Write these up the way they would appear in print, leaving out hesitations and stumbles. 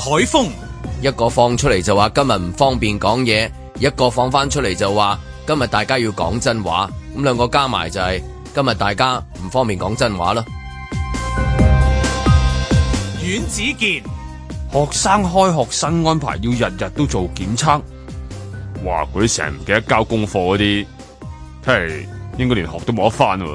海峰， 一個放出嚟就話今日唔方便講嘢，一個放翻出嚟就話今日大家要講真話，咁兩個加埋就係今日大家唔方便講真話啦。 阮子健， 學生開學新安排要日日都做檢測，哇！嗰啲成日唔記得交功課嗰啲，睇嚟應該連學都冇得返喎。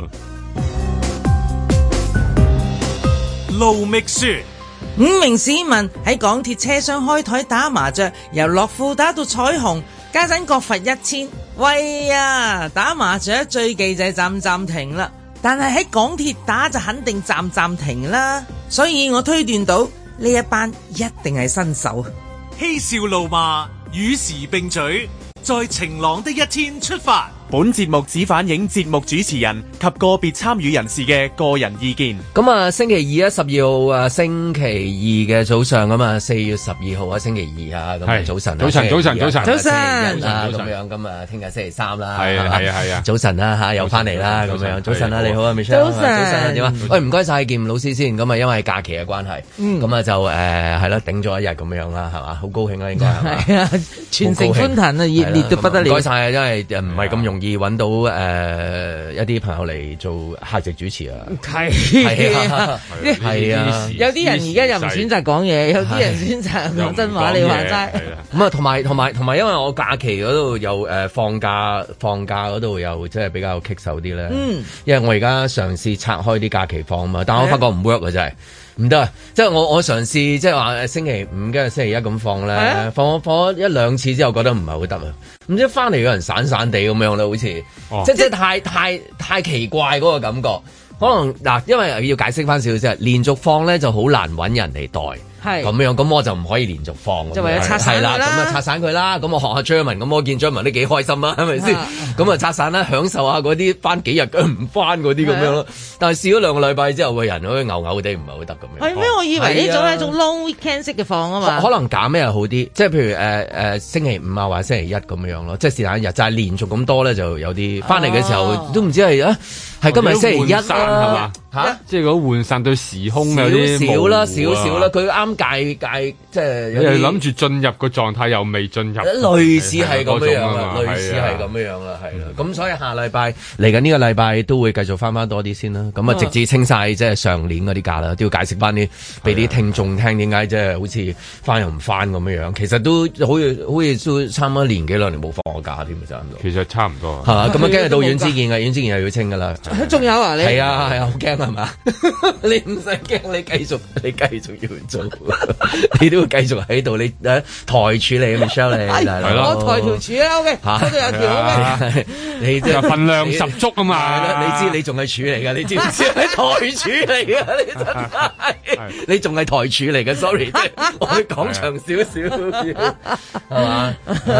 盧覓雪 ，5名市民喺港鐵車廂開台打麻雀，由樂富打到彩虹，家陣各罰1000。喂呀，打麻雀最忌就係暫停啦，但係喺港鐵打就肯定暫停啦，所以我推斷到呢一班一定係新手。 嬉笑怒罵與時並舉，在晴朗的一天出發。 本節目只反映節目主持人及個別參與人士嘅個人意見。 咁啊，星期二12號啊，星期二嘅早上咁啊，4月12號啊，星期二啊，咁早晨， 早晨， 咁樣咁啊，聽日星期3啦，係啊，早晨啦嚇，又翻嚟啦，咁樣，早晨啦，你好啊 Michelle， 早晨啊，點啊？喂，唔該曬劍老師先，咁啊，因為假期嘅關係，咁啊就係啦，頂咗一日咁樣啦，係嘛，好高興啊，應該係啊， 全城歡騰啊，熱烈到不得了。 唔該曬，因為唔係咁容易揾到一啲朋友嚟做客席主持啊，係啊， 有啲人而家又唔選擇講嘢，有啲人選擇講真話，你話齋。 咁啊，同埋，因為我假期嗰度又放假嗰度又即係比較棘手啲咧。因為我而家嘗試拆開啲假期放啊嘛，但我發覺唔 work 啊，真係。唔得啊！即係我嘗試即係話星期5跟住星期1咁放咧，放咗1-2次之後覺得唔係好得啊！唔知翻嚟有人散散地咁樣啦，好似即係太奇怪嗰個感覺。可能嗱，因為要解釋翻少少啫，連續放咧就好難揾人嚟代。係咁樣，咁我就唔可以連續放， 就為咗拆散啦。 咁啊拆散佢啦，咁我學下張文，咁我見張文都幾開心啊，係咪先？咁啊拆散啦，享受下嗰啲翻幾日唔翻嗰啲咁樣咯。但係試咗2個禮拜之後，個人好似牛地，唔係好得咁樣。 係咩？我以為呢種係一種 long weekend 式嘅放啊嘛。可能減咩又好啲，即係譬如星期5啊，或者星期1咁樣咯，即係是但一日，就係連續咁多咧，就有啲翻嚟嘅時候都唔知係係今日星期1係嘛？ 即係如果換散對時空有啲少啦，佢啱界即係有啲諗住進入個狀態又未進入， 類似係咁樣啦，類似係咁樣啦，係啦。咁所以下禮拜嚟緊呢個禮拜都會繼續翻多啲先啦。咁啊，直至清晒即係上年嗰啲假啦，都要解釋翻啲俾啲聽眾聽點解即係好似翻又唔翻咁樣。其實都好似都差唔多1-2年冇放過假添，就咁。 其實差唔多係嘛？咁啊，跟住到阮之健阮之健又要清噶啦。 仲有啊？你係啊，好驚係嘛？你唔使驚，你繼續要做，你都會繼續喺度。你台柱嚟 Michelle 你係咯， 我台條柱啊 OK，嗰度有條 OK， 你即係份量十足啊嘛。 你知你仲係柱嚟噶，你知唔知係台柱嚟噶？你真係，你仲係台柱嚟嘅 sorry， 我會講長少係嘛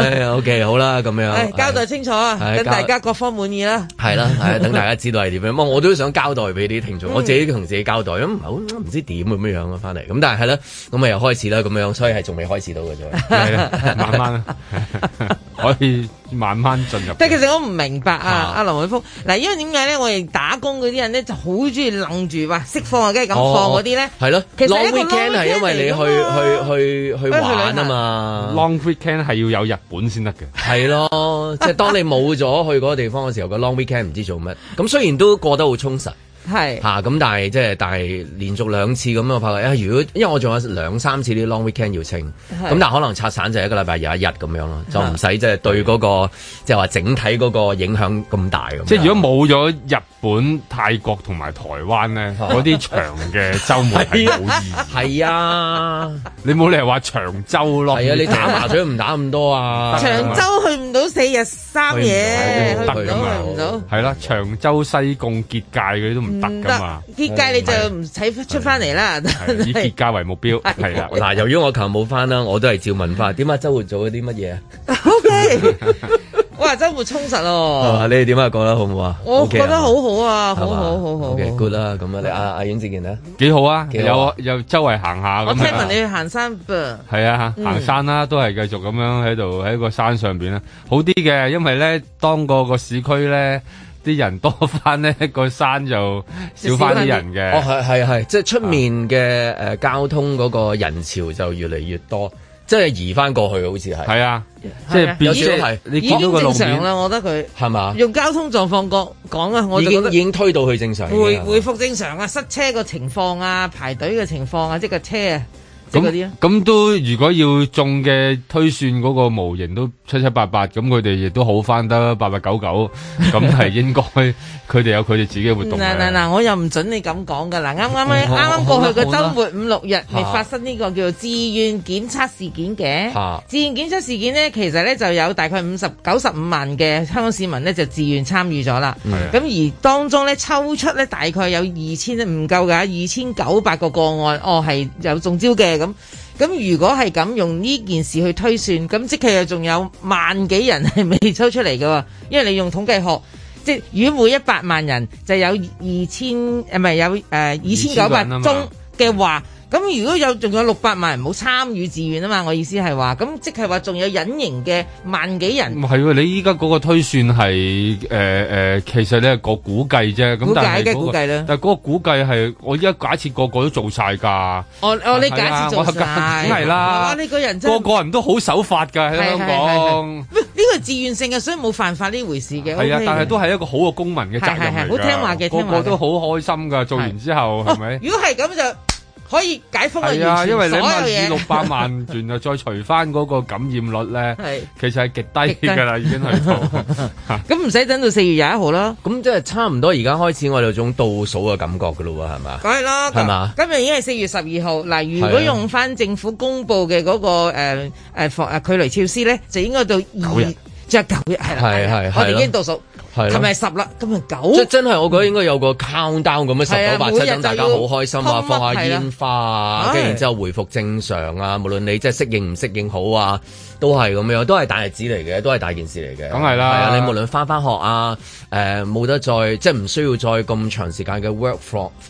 ？OK 好啦，咁樣交代清楚啊，等大家各方滿意啦。 係啦，等大家知道係點樣。我都想交代俾啲聽眾，我自己同自己交代，咁唔知點咁樣啊，翻嚟咁，但係啦，咁啊又開始啦，咁樣，所以係仲未開始到嘅啫， 慢慢可以慢慢進入。 但係其實我唔明白啊，阿林偉峰嗱，因為點解咧？我哋打工嗰啲人咧就好中意愣住話釋放啊，梗係咁放嗰啲咧，係咯。其實 long weekend 係因為你去玩啊嘛 ，long weekend 係要有日本先得嘅， 係咯，即係當你冇咗去嗰個地方嘅時候，個 long weekend 唔知做乜。咁雖然都過得好充實。係嚇咁，但係連續2次咁我發覺如果因為我仲有2-3次啲 long weekend 要清，咁但係可能拆散就1個禮拜有1日咁樣咯，就唔使即係對嗰個即係話整體嗰個影響咁大咁。 即係如果冇咗日本、泰國同埋台灣咧，嗰啲長嘅週末係冇意義。係啊，你冇理由話長洲咯。係啊，你打麻雀唔打咁多啊。 長洲去唔到4日3夜，去唔到。係啦，長洲、西貢、結界嗰啲都唔得噶嘛， 結界你就唔使出翻嚟啦。 以結界為目標，係啦。 嗱，由於我琴日冇翻啦，我都係照問翻。點解周末做咗啲乜嘢 ？O K，哇，周末充實哦。 你哋點啊？覺得好唔好啊？ 我覺得好好啊，好好。 OK good 啦，咁啊，你阿阮志健咧， 幾好啊？有周圍行下咁。 我聽聞你去行山噃。 係啊，行山啦，都係繼續咁樣喺度喺個山上邊啦，好啲嘅，因為咧當個市區咧。 啲人多翻咧，個山就少翻啲人嘅。 哦，係，即係出面嘅交通嗰個人潮就越嚟越多。即係移翻過去，好似係。係啊，即係變咗係你見到個路面已經正常啦，我覺得佢係嘛？ 用交通狀況講啊，我就覺得已經推到去正常。 回復正常啊，塞車個情況啊，排隊嘅情況啊，即係個車啊。 咁都如果要中嘅推算嗰個模型都七七八八，咁佢哋亦都好翻得八八九九，咁係應該佢哋有佢哋自己嘅活動。 嗱，我又唔準你咁講噶。嗱，啱啱過去個週末5、6日，咪發生呢個叫做自願檢測事件嘅。自願檢測事件呢，其實呢就有大概95萬嘅香港市民呢就自願參與咗啦。咁而當中呢，抽出呢大概有2000唔夠㗎，2900個個案，係有中招嘅。咁如果係咁用呢件事去推算，咁即係仲有萬幾人係未抽出嚟嘅喎，因為你用統計學，即係如果每100萬人就有2900宗嘅話。咁如果仲有600萬人冇參與自願啊嘛，我意思係話，咁即係話仲有隱形嘅萬幾人。唔係喎，你依家嗰個推算係其實你係個估計啫。咁但係估計啦。 但係嗰個估計係我依家假設個個都做晒㗎。 你假設做晒。梗係啦。 呢個人真係個人都好守法㗎喺香港。 呢個係自願性嘅，所以冇犯法呢回事嘅。 係啊，但係都係一個好嘅公民嘅責任嚟㗎。 好聽話嘅， 個個都好開心㗎。做完之後係咪？ 如果係咁就。可以解封嘅， 係啊，因為你以600萬元又再除翻嗰個感染率咧，其實係極低㗎啦，已經去到。 咁唔使等到4月21號啦。 咁即係差唔多，而家開始我哋有種倒數嘅感覺㗎咯喎，係嘛？ 梗係啦，係嘛？今日已經係4月12號。嗱，如果用翻政府公布嘅嗰個距離措施咧，就應該到9日，即係9日係啦。係，我哋已經倒數。係咪10啦？今日9， 即真係我覺得應該有個 countdown 咁樣10、9、8、7，等大家好開心啊，放下煙花啊，跟住然之後回復正常啊，無論你即係適應唔適應好啊，都係咁樣，都係大日子嚟嘅，都係大件事嚟嘅。 梗係啦， 係啊，你無論翻學啊，冇得再即係唔需要再咁長時間嘅 work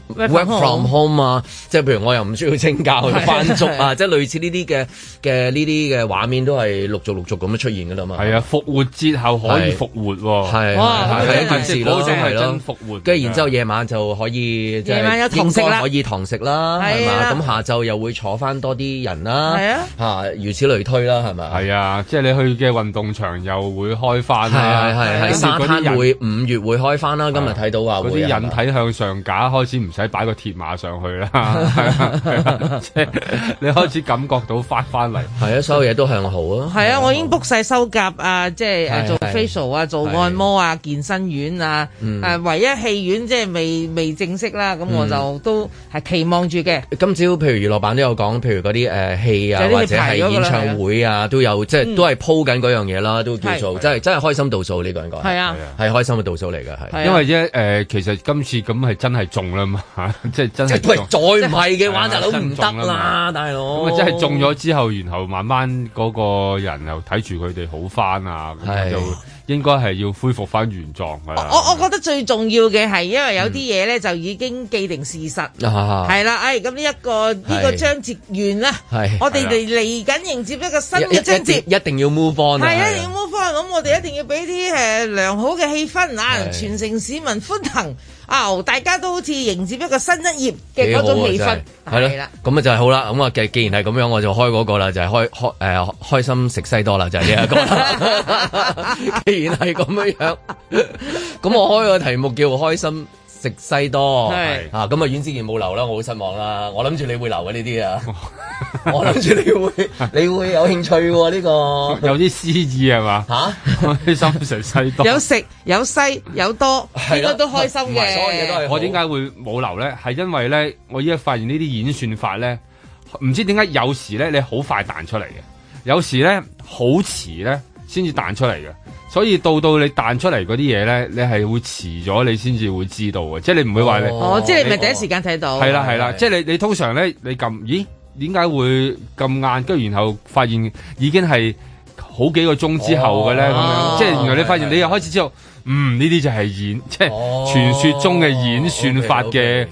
from home 啊，即係譬如我又唔需要請假去翻足啊，即係類似呢啲嘅畫面都係陸續咁樣出現㗎啦嘛。 係啊，復活節後可以復活喎。 係一件事咯，係咯， 復活。 跟住然之後夜晚就可以， 夜晚有堂食啦， 可以堂食啦，係嘛？咁下晝又會坐翻多啲人啦，係啊，嚇，如此類推啦，係咪？ 係啊，即係你去嘅運動場又會開翻啦， 係沙灘會5月會開翻啦。今日睇到話嗰啲引體向上架開始唔使擺個鐵馬上去啦，即係你開始感覺到翻嚟。 係啊，所有嘢都向好啊。 係啊，我已經 book 晒修甲啊，即係做 facial 啊，做按摩啊。健身院啊，唯一戲院即係未正式啦，咁我就都係期望住嘅。 今朝譬如娛樂版都有講，譬如嗰啲戲啊，或者係演唱會啊，都有即係都係鋪緊嗰樣嘢啦，都叫做真係開心倒數呢個應該係啊，係開心嘅倒數嚟嘅係。 因為其實今次咁係真係中啦嘛，即係真係。 喂，再唔係嘅話，大佬唔得啦，大佬。 咁啊，真係中咗之後，然後慢慢嗰個人又睇住佢哋好翻啊，咁就應該係要恢復翻原狀㗎啦。 我覺得最重要嘅係，因為有啲嘢咧就已經既定事實，係啦，咁呢個章節完啦，我哋嚟緊迎接一個新嘅章節， 一定要 move on， 係一定要 move on，咁我哋一定要俾啲良好嘅氣氛啊，全城市民歡騰。大家都好似迎接一個新一頁嘅嗰種氣氛，係啦， 咁啊就係好啦。咁啊，既然係咁樣，我就開嗰個啦，就係開心食西多啦，就係呢一個。既然係咁樣，咁我開個題目叫開心食西多，係咁啊，阮之健冇留啦，我好失望啦。我諗住你會留嘅呢啲啊，我諗住你會有興趣喎呢個， 有啲詩意係嘛？開心食西多， 有食有西有多，應該都開心嘅。 所有嘢都係。 我點解會冇留咧？係因為咧，我依家發現呢啲演算法咧，唔知點解有時咧你好快彈出嚟嘅，有時咧好遲咧先至彈出嚟嘅。所以到你彈出嚟嗰啲嘢咧，你係會遲咗你先至會知道嘅，即係你唔會話你即係你咪第一時間睇到。 係啦，即係你通常咧你撳，咦？點解會咁晏？跟住然後發現已經係好幾個鐘之後嘅咧，咁樣即係原來你發現你又開始知道，呢啲就係即係傳說中嘅演算法嘅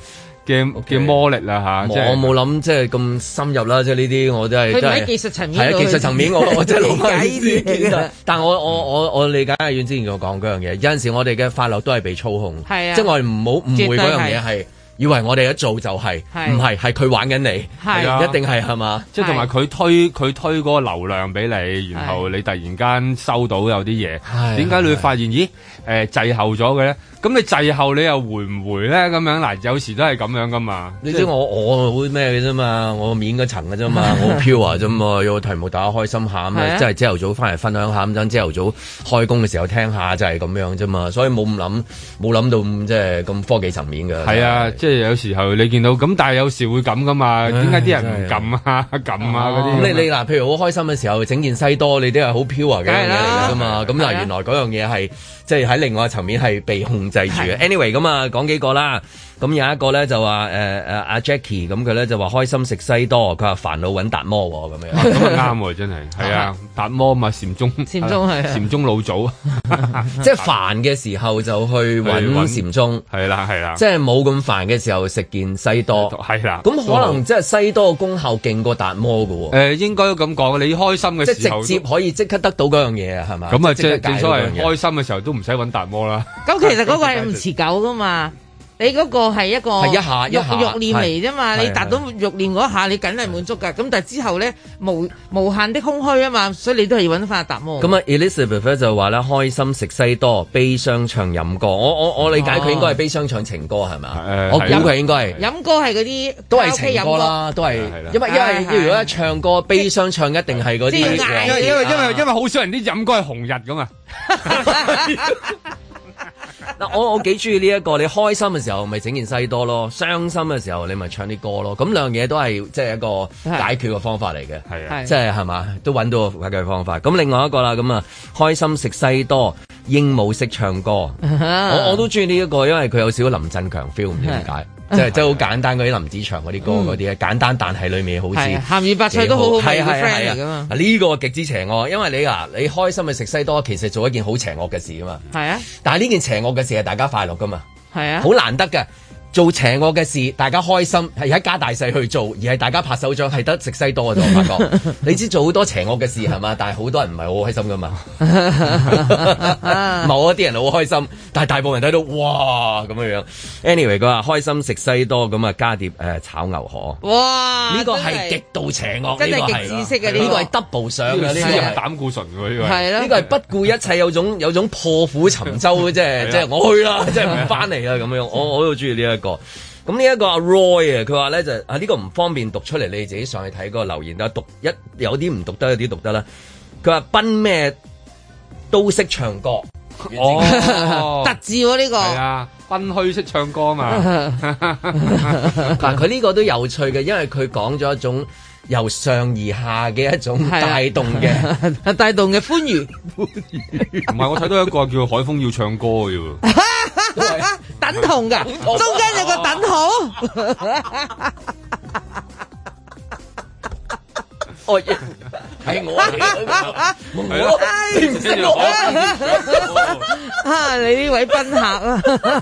嘅魔力啦嚇。 我冇諗即係咁深入啦，即係呢啲我都係佢唔喺技術層面， 係啊技術層面我真係理解呢啲嘢。 但我理解阿遠之前我講嗰樣嘢，有陣時我哋嘅快樂都係被操控， 係啊， 即係我哋唔好誤會嗰樣嘢係。以為我哋一做就係，唔係佢玩緊你， 係啊， 一定係嘛？ 即係同埋佢推嗰個流量俾你，然後你突然間收到有啲嘢，點解你會發現咦滯後咗嘅咧？咁你滯後你又回唔回咧？咁樣嗱，有時都係咁樣噶嘛。 你知我好咩嘅啫嘛？我面嗰層嘅啫嘛，我好 pure 啫嘛。有個題目大家開心下咁啊，即係朝頭早翻嚟分享下咁樣，朝頭早開工嘅時候聽下就係咁樣啫嘛。所以冇諗到即係咁科技層面嘅。 係啊，即係有時候你見到咁，但係有時會咁噶嘛？點解啲人唔撳啊嗰啲？ 咁你嗱，譬如好開心嘅時候整件西多，你都係好 pure 嘅嘢嚟㗎嘛。咁但係原來嗰樣嘢係即係喺另外一層面係被控制住嘅。Anyway， 咁啊講幾個啦。咁有一個咧就話阿 Jackie 咁佢咧就話開心食西多，佢話煩惱揾達摩喎咁樣。 咁啊啱喎，真係係啊，達摩嘛禪宗係禪宗老祖， 即係煩嘅時候就去揾禪宗， 係啦係啦， 即係冇咁煩嘅時候食件西多， 係啦。 咁可能即係西多嘅功效勁過達摩㗎喎。 應該都咁講，你開心嘅時候即係直接可以即刻得到嗰樣嘢啊，係嘛？ 咁啊，即係正所謂開心嘅時候都唔使揾達摩啦。 咁其實嗰個係唔持久噶嘛。你嗰個係一個一下慾念嚟啫嘛，你達到慾念嗰下，你梗係滿足噶。咁但係之後咧無限的空虛啊嘛，所以你都係要揾翻阿達摩。 咁啊 Elizabeth 就話咧開心食西多，悲傷唱飲歌。我理解佢應該係悲傷唱情歌係咪？我估佢應該係飲歌係嗰啲都係情歌啦，都係因為如果一唱歌悲傷唱一定係嗰啲， 因為好少人啲飲歌係紅日噶嘛。 嗱，我幾中意呢一個，你開心嘅時候咪整件西多咯，傷心嘅時候你咪唱啲歌咯，咁兩樣嘢都係即係一個解決嘅方法嚟嘅，係啊，即係係嘛，都揾到個解決方法。咁另外一個啦，咁啊開心食西多，鸚鵡識唱歌，我都中意呢一個，因為佢有少少林振強 feel，唔知點解。即係好簡單嗰啲林子祥嗰啲歌嗰啲咧，簡單但係裏面好似鹹魚白菜都好好味嘅 friend 嚟㗎嘛。 呢個極之邪惡，因為你開心去食西多，其實做一件好邪惡嘅事㗎嘛。係啊，但係呢件邪惡嘅事係大家快樂㗎嘛。係啊，好難得嘅。做邪惡嘅事，大家開心係一家大細去做，而係大家拍手掌係得食西多嘅啫。我發覺你知做好多邪惡嘅事係嘛，但係好多人唔係好開心噶嘛。某一啲人好開心，但係大部分人睇到哇咁樣。Anyway， 佢話開心食西多咁啊，加碟炒牛河。哇！呢個係極度邪惡， 真係極知識嘅呢個係 double 上嘅，呢個係膽固醇喎呢個。 係啦，呢個係不顧一切，有種破釜沉舟嘅，即係我去啦，即係唔翻嚟啦咁樣。我都中意呢一個。咁呢一個阿 Roy 啊，佢話咧就呢個唔方便讀出嚟，你自己上去睇嗰個留言啦。有啲唔讀得，有啲讀得啦。佢話賓咩都識唱歌， 特字喎呢個。 係啊，賓虛識唱歌嘛。 但佢呢個都有趣嘅，因為佢講咗一種由上而下嘅一種帶動嘅歡愉。 唔係，我睇到一個叫海風要唱歌嘅喎。 等同㗎，中間有個等號。 哦，係我嚟嘅，你唔識我啊！你呢位賓客啊，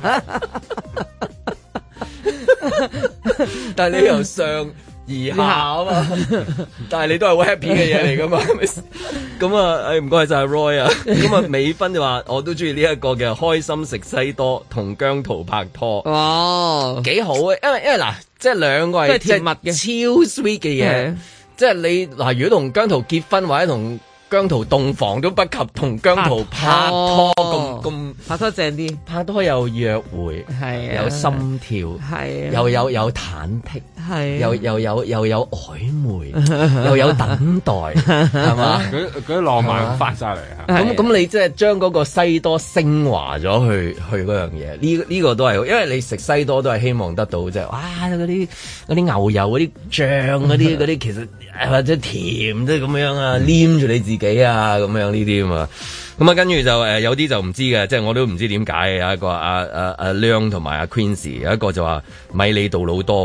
但係你由上而下啊嘛，但係你都係好 happy 嘅嘢嚟噶嘛，咁啊，唔該晒 Roy 啊，咁啊美芬就話我都中意呢一個嘅開心食西多同姜濤拍拖，哦，幾好啊，因為嗱，即係兩個係甜蜜嘅超 sweet 嘅嘢，即係你嗱，如果同姜濤結婚或者同姜濤洞房都不及同姜濤拍拖咁拍拖正啲， 拍拖有約會，係有心跳，係有忐忑，係又有曖昧，又有等待，係嘛？ 嗰啲浪漫發晒嚟啊！ 咁你即係將嗰個西多升華咗去嗰樣嘢，呢個都係，因為你食西多都係希望得到即係哇嗰啲牛油嗰啲醬嗰啲其實或者甜即係咁樣啊，黏住你自己啊咁樣呢啲啊嘛，咁啊跟住就有啲就唔知嘅，即係我都唔知點解，有一個阿亮同埋阿 Queenie， 有一個就話米利杜魯多，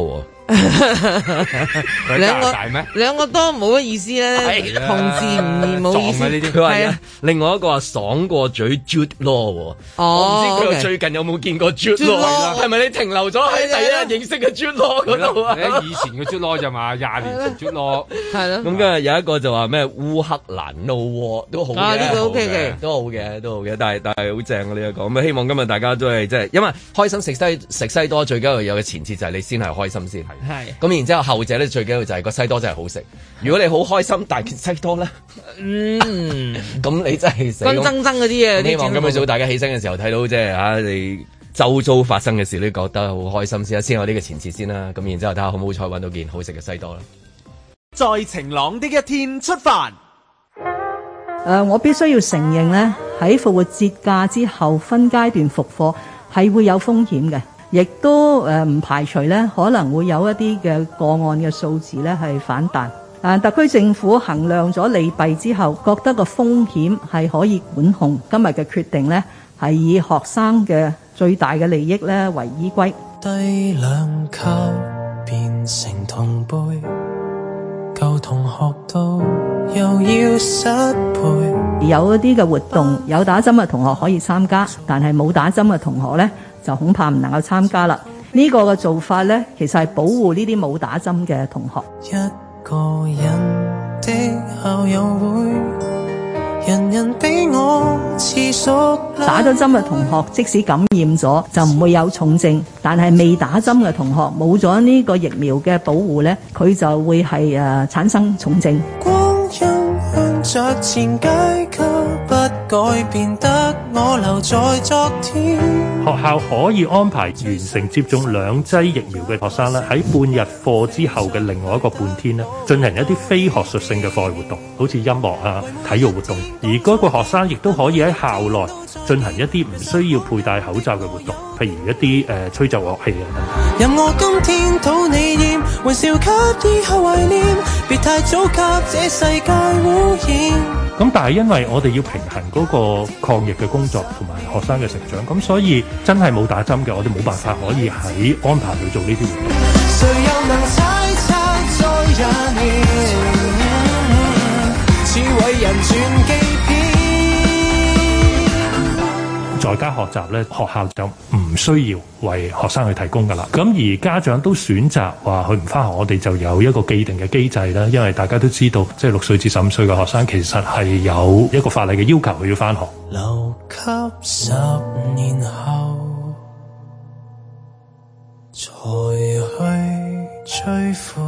兩個多冇乜意思咧，同字唔冇意思。 佢話另外一個話爽過嘴 Jude Law，我唔知佢最近有冇見過 Jude Law，係咪你停留咗喺第一日認識嘅 Jude Law 嗰度啊？ 以前嘅 Jude Law 就嘛，20年前 Jude Law 係咯。 咁跟住有一個就話咩烏克蘭 No War 都好嘅， 呢個 OK 嘅， 都好嘅，但係好正嘅呢一個。咁希望今日大家都係即係，因為開心食西多最緊要有嘅前設就係你先係開心先。係。咁然之後後者咧最緊要就係個西多真係好食。如果你好開心，但係西多咧，咁你真係死。 乾爭嗰啲嘢。 希望今日早大家起身嘅時候睇到即係你周遭發生嘅事，你覺得好開心先有呢個前設先啦。咁然之後睇下好唔好彩揾到件好食嘅西多啦。 在晴朗的一天出發。 我必須要承認咧，喺復活節假之後分階段復課係會有風險嘅。亦都唔排除咧，可能會有一啲嘅個案嘅數字咧係反彈。但特區政府衡量咗利弊之後，覺得個風險係可以管控。今日嘅決定咧係以學生嘅最大嘅利益咧為依歸。 低兩級變成同輩，舊同學到又要失陪。 有一啲嘅活動，有打針嘅同學可以參加，但係冇打針嘅同學咧，就恐怕唔能夠參加啦。呢個嘅做法咧，其實係保護呢啲冇打針嘅同學。 一個人的校友會，人人比我似熟。 打咗針嘅同學，即使感染咗，就唔會有重症；但係未打針嘅同學，冇咗呢個疫苗嘅保護咧，佢就會係產生重症。 光陰向着前階級，不改變得我留在昨天。 學校可以安排完成接種2劑疫苗嘅學生咧，喺半日課之後嘅另外一個半天咧，進行一啲非學術性嘅課外活動，好似音樂啊、體育活動。而嗰個學生亦都可以喺校內進行一啲唔需要佩戴口罩嘅活動，譬如一啲吹奏樂器啊等等。 任我今天討你厭，微笑給以後懷念，別太早給這世界污染。 咁但係因為我哋要平衡嗰個抗疫嘅工作同埋學生嘅成長，咁所以真係冇打針嘅，我哋冇辦法可以喺安排去做呢啲活動。誰又能猜測在廿年，似為人傳記片。在家學習咧，學校就唔需要為學生去提供噶啦。咁而家長都選擇話佢唔返學，我哋就有一個既定嘅機制啦。因為大家都知道，即係6歲至15歲嘅學生，其實係有一個法例嘅要求，佢要返學。 留給10年後才去追悔。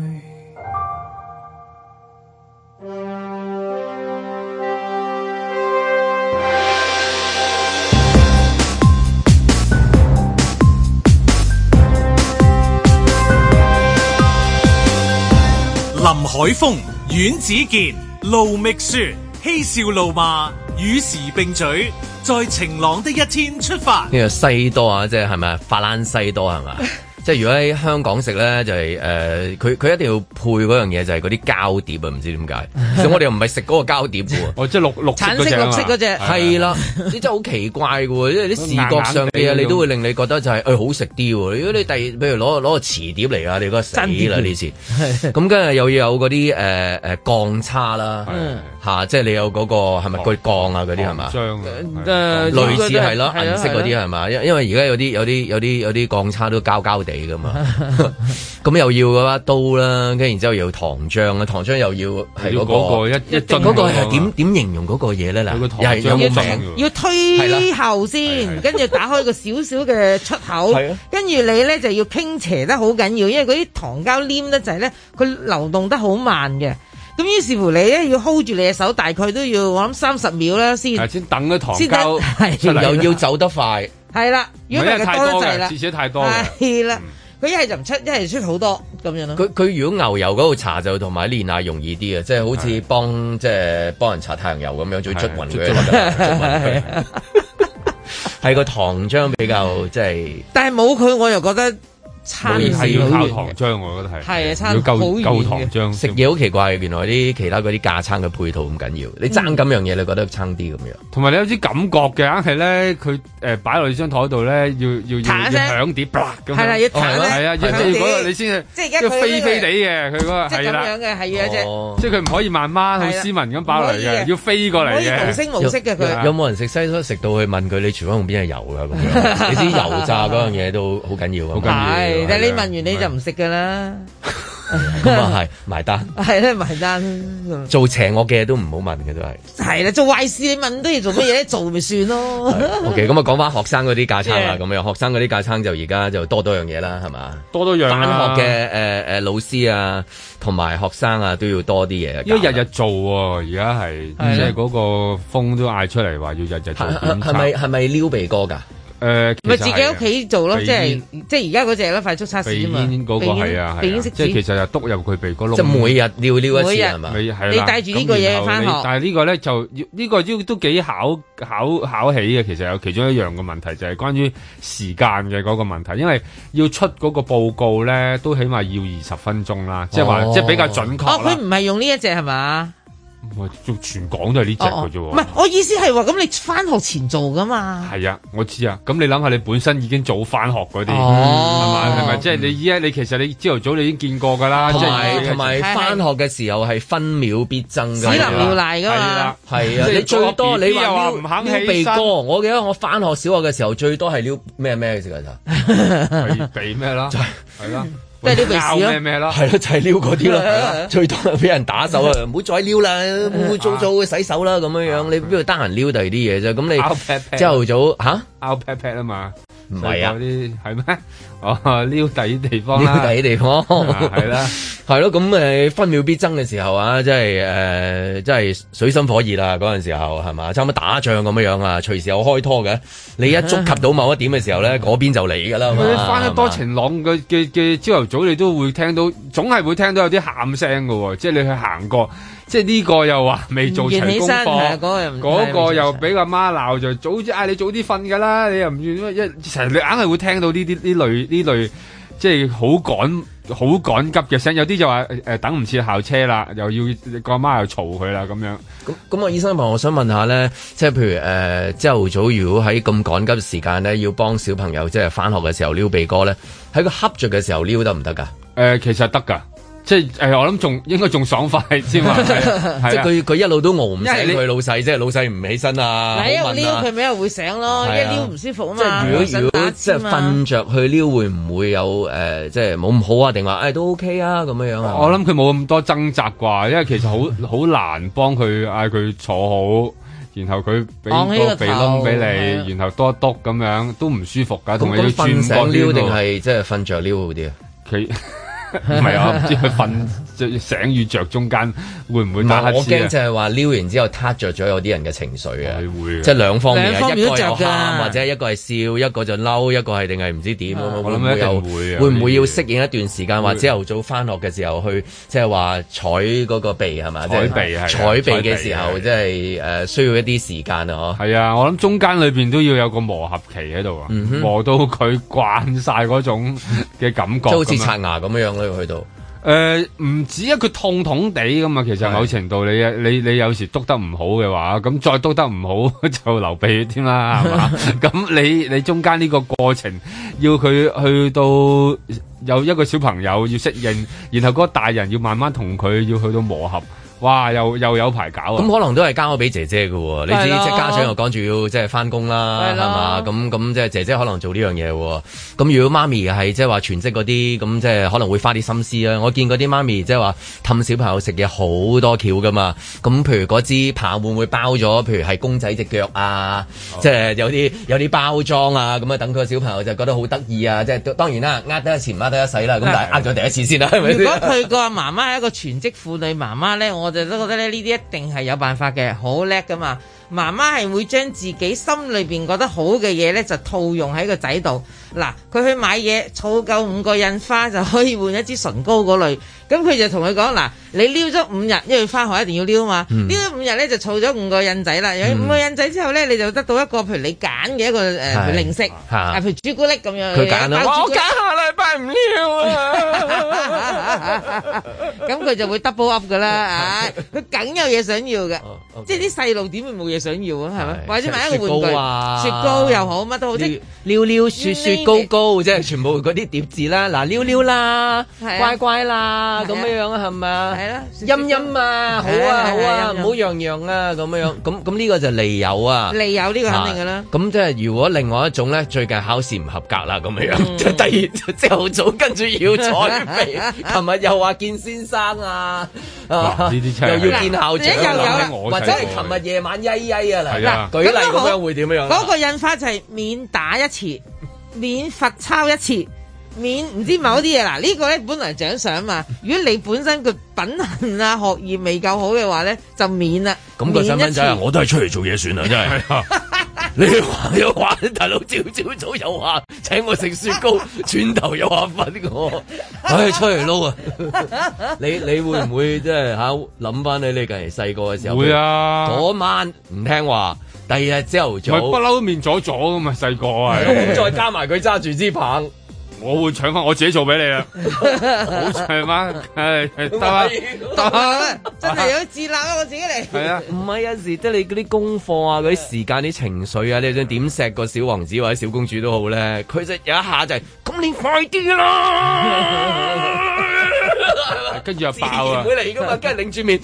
林海峰、阮子健、盧覓雪，嬉笑怒罵，與時並舉，在晴朗的一天出發。 呢個西多啊，即係咪啊？法蘭西多係嘛？即係如果喺香港食咧，就係佢一定要配嗰樣嘢，就係嗰啲膠碟啊！唔知點解，所以我哋又唔係食嗰個膠碟喎。 哦，即係綠橙色綠色嗰隻， 係啦，你真係好奇怪嘅喎，因為啲視覺上嘅嘢你都會令你覺得就係好食啲喎。如果你譬如攞個磁碟嚟啊，你覺得死啦呢次。咁跟住又要有嗰啲鋼叉啦，嚇，即係你有嗰個係咪嗰啲鋼啊嗰啲係嘛？類似係咯，銀色嗰啲係嘛？因為而家有啲鋼叉都膠膠地㗎嘛，咁又要嗰把刀啦，跟住然之後又要糖漿啦，糖漿又要係嗰個一樽嗰個係點形容嗰個嘢咧？嗱，又係有個名， 要推後先，跟住打開個少少嘅出口，跟住你咧就要傾斜得好緊要，因為嗰啲糖膠黏得滯咧，佢流動得好慢嘅。咁於是乎你咧要 hold 住你嘅手，大概都要我諗30秒啦先等咗糖膠， 又要走得快。 係啦，如果唔係多得滯啦， 次次太多。 係啦，佢一係就唔出，一係出好多咁樣咯。 佢如果牛油嗰度搽就同埋煉奶容易啲嘅，即係好似幫人搽太陽油咁樣，最捽勻佢。係個糖漿比較即係， 但係冇佢我又覺得餐係要靠糖漿，我覺得係啊，餐要夠糖漿。 食嘢好奇怪，原來啲其他嗰啲架撐嘅配套咁緊要，你爭咁樣嘢，你覺得爭啲咁樣。同埋你有啲感覺嘅，硬係咧佢擺落你張台度咧，要響碟，咁係啦，要彈咧， 係啊，即係嗰個你先即係而家佢飛飛地嘅，佢嗰個係啦， 咁樣嘅係啊啫， 即係佢唔可以慢慢好斯文咁擺落嚟嘅，要飛過嚟嘅， 無聲無息嘅佢。 有冇人食西餐食到去問佢你廚房用邊係油㗎咁樣？你知油炸嗰樣嘢都好緊要啊！ 好緊要。 係，但係你問完你就唔食㗎啦。 咁啊係埋單， 係咧埋單。 做邪惡嘅嘢都唔好問嘅都係。 係啦，做壞事你問都要做乜嘢咧？做咪算咯。 OK，咁啊講翻學生嗰啲架撐啦，咁樣學生嗰啲架撐就而家就多樣嘢啦，係嘛？ 多樣返學嘅老師啊，同埋學生啊都要多啲嘢。 因為日日做喎，而家係即係嗰個風都嗌出嚟話要日日做檢查。 係咪撩鼻哥㗎？ 咪自己屋企做咯，即係而家嗰隻啦，快速測試啊嘛。 鼻煙嗰個係啊，即係其實就篤入佢鼻哥窿。 即係每日撩一次係嘛？ 你帶住呢個嘢返學， 但係呢個咧就呢個都幾考起嘅。其實有其中一樣嘅問題就係關於時間嘅嗰個問題，因為要出嗰個報告咧都起碼要20分鐘啦，即係話即係比較準確。 佢唔係用呢一隻係嘛？ 做全港都係呢隻嘅啫喎， 唔係我意思係話咁你返學前做㗎嘛？ 係啊，我知啊。咁你諗下，你本身已經早返學嗰啲，係咪？即係你其實你朝頭早你已經見過㗎啦。 同埋返學嘅時候係分秒必爭㗎， 屎淋尿瀨㗎嘛。 係啊，你最多你話唔肯撩鼻哥，我記得我返學小學嘅時候最多係撩咩嘅時間就鼻咩啦，係啦。 即係撩鼻屎咩咯， 係咯，就係撩嗰啲咯，最多係俾人打手啊！唔好再撩啦，污糟糟洗手啦咁樣樣，你邊度得閒撩第二啲嘢啫？咁你朝頭早嚇拗 pat pat 啊嘛， 唔係啊？ 啲係咩？哦，撩第啲地方啦， 撩第啲地方係啦， 係咯。咁分秒必爭嘅時候啊，即係水深火熱啦嗰陣時候係嘛？差唔多打仗咁樣樣啊，隨時有開拖嘅。你一觸及到某一點嘅時候咧，嗰邊就嚟㗎啦。 佢翻得多晴朗嘅朝頭早，你都會聽到，總係會聽到有啲喊聲㗎喎。即係你去行過，即係呢個又話未做齊功課，嗰個又俾阿媽鬧就早啲嗌你早啲瞓㗎啦。你又唔願成日你硬係會聽到呢類即係好趕急嘅聲，有啲就話等唔切校車啦，又要個阿媽又嘈佢啦咁樣。 咁醫生朋友，我想問下咧，即係譬如朝頭早如果喺咁趕急時間咧，要幫小朋友即係返學嘅時候撩鼻哥咧，喺個瞌着嘅時候撩得唔得㗎？ 其實得㗎。即係我諗應該仲爽快先嘛，即係佢一路都熬唔醒佢老細，即係老細唔起身啊！ 你又撩佢咪又會醒咯，一撩唔舒服啊嘛。 即係如果即係瞓着去撩，會唔會有即係冇咁好啊？定話都 OK 啊咁樣樣啊？ 我諗佢冇咁多掙扎啩，因為其實好難幫佢嗌佢坐好，然後佢俾個鼻窿俾你，然後多一篤咁樣都唔舒服㗎，同埋要轉醒撩定係即係瞓着撩好啲啊？ 唔係啊，唔知佢瞓醒與着中間會唔會打乞嗤啊？ 我驚就係話撩完之後撻着咗有啲人嘅情緒啊！ 會即係兩方面，一個有喊或者一個係笑，一個就嬲，一個係定係唔知點。 我諗一定會啊！ 會唔會要適應一段時間？或者朝頭早返學嘅時候去，即係話採嗰個鼻係嘛？ 採鼻係採鼻嘅時候，即係需要一啲時間啊！ 係啊，我諗中間裏邊都要有個磨合期喺度啊，磨到佢慣晒嗰種嘅感覺， 即係好似刷牙咁樣。去到唔止啊，佢痛痛地噶嘛，其實某程度你有時篤得唔好嘅話，咁再篤得唔好就流鼻血添啦，係嘛？咁你中間呢個過程要佢去到有一個小朋友要適應，然後嗰個大人要慢慢同佢要去到磨合。哇！又有排搞啊！ 咁可能都係交咗俾姐姐嘅喎，你知即係家長又趕住要即係返工啦，係嘛？咁即係姐姐可能做呢樣嘢喎。咁如果媽咪係即係話全職嗰啲，咁即係可能會花啲心思啦。我見嗰啲媽咪即係話氹小朋友食嘢好多橋㗎嘛。咁譬如嗰支棒會唔會包咗？譬如係公仔隻腳啊，即係有啲包裝啊，咁啊等佢個小朋友就覺得好得意啊！即係當然啦，呃得一次唔呃得一世啦。咁但係呃咗第一次先啦，係咪？ 如果佢個媽媽係一個全職婦女媽媽咧，我就都覺得咧呢啲一定係有辦法嘅，好叻噶嘛！媽媽係會將自己心裏邊覺得好嘅嘢咧，就套用喺個仔度。嗱，佢去買嘢，儲夠5個印花就可以換一支唇膏嗰類。 咁佢就同佢講嗱，你撩咗5日，因為翻學一定要撩嘛，撩咗5日咧就儲咗5個印仔啦。有5個印仔之後咧，你就得到一個譬如你揀嘅一個零食，譬如朱古力咁樣。佢揀啦，我揀下禮拜唔撩啊！咁佢就會 double up 噶啦，佢梗有嘢想要嘅，即係啲細路點會冇嘢想要啊？係咪？或者買一個玩具，雪糕又好，乜都好，即撩撩雪雪糕糕，即係全部嗰啲疊字啦，嗱撩撩啦，乖乖啦，咁樣樣啊，係咪啊？係啦，陰陰啊，好啊好啊，唔好樣樣啊，咁樣樣，咁呢個就利誘啊， 利誘呢個肯定噶啦。 咁即係如果另外一種咧，最近考試唔合格啦，咁樣樣，即係第二朝頭早跟住要彩眉，琴日又話見先生啊，呢啲又要見校長，或者係琴日夜晚曳曳啊嗱，舉例咁樣會點樣？ 嗰個印花就係免打一次，免罰抄一次，免唔知某啲嘢嗱，呢個咧本來獎賞嘛。如果你本身個品行啊學業未夠好嘅話咧，就免啦。 咁個細蚊仔我都係出嚟做嘢算啦，真係。你話又話大佬朝早又話請我食雪糕，轉頭又話罰我，唉出嚟撈啊！你會唔會即係諗翻你近嚟細個嘅時候？ 會啊！ 嗰晚唔聽話，第二日朝頭早不嬲都面咗㗎嘛，細個啊！ 咁再加埋佢揸住支棒。 我會搶翻我自己做俾你啦，好長嗎？得啦， 真係有自立啊！我自己嚟。 係啊，唔係有時即係你嗰啲功課啊、嗰啲時間、啲情緒啊，你想點錫個小王子或者小公主都好咧，佢就有一下就係咁，你快啲啦！ 跟住又爆啊！ 會嚟噶嘛？跟住擰住面，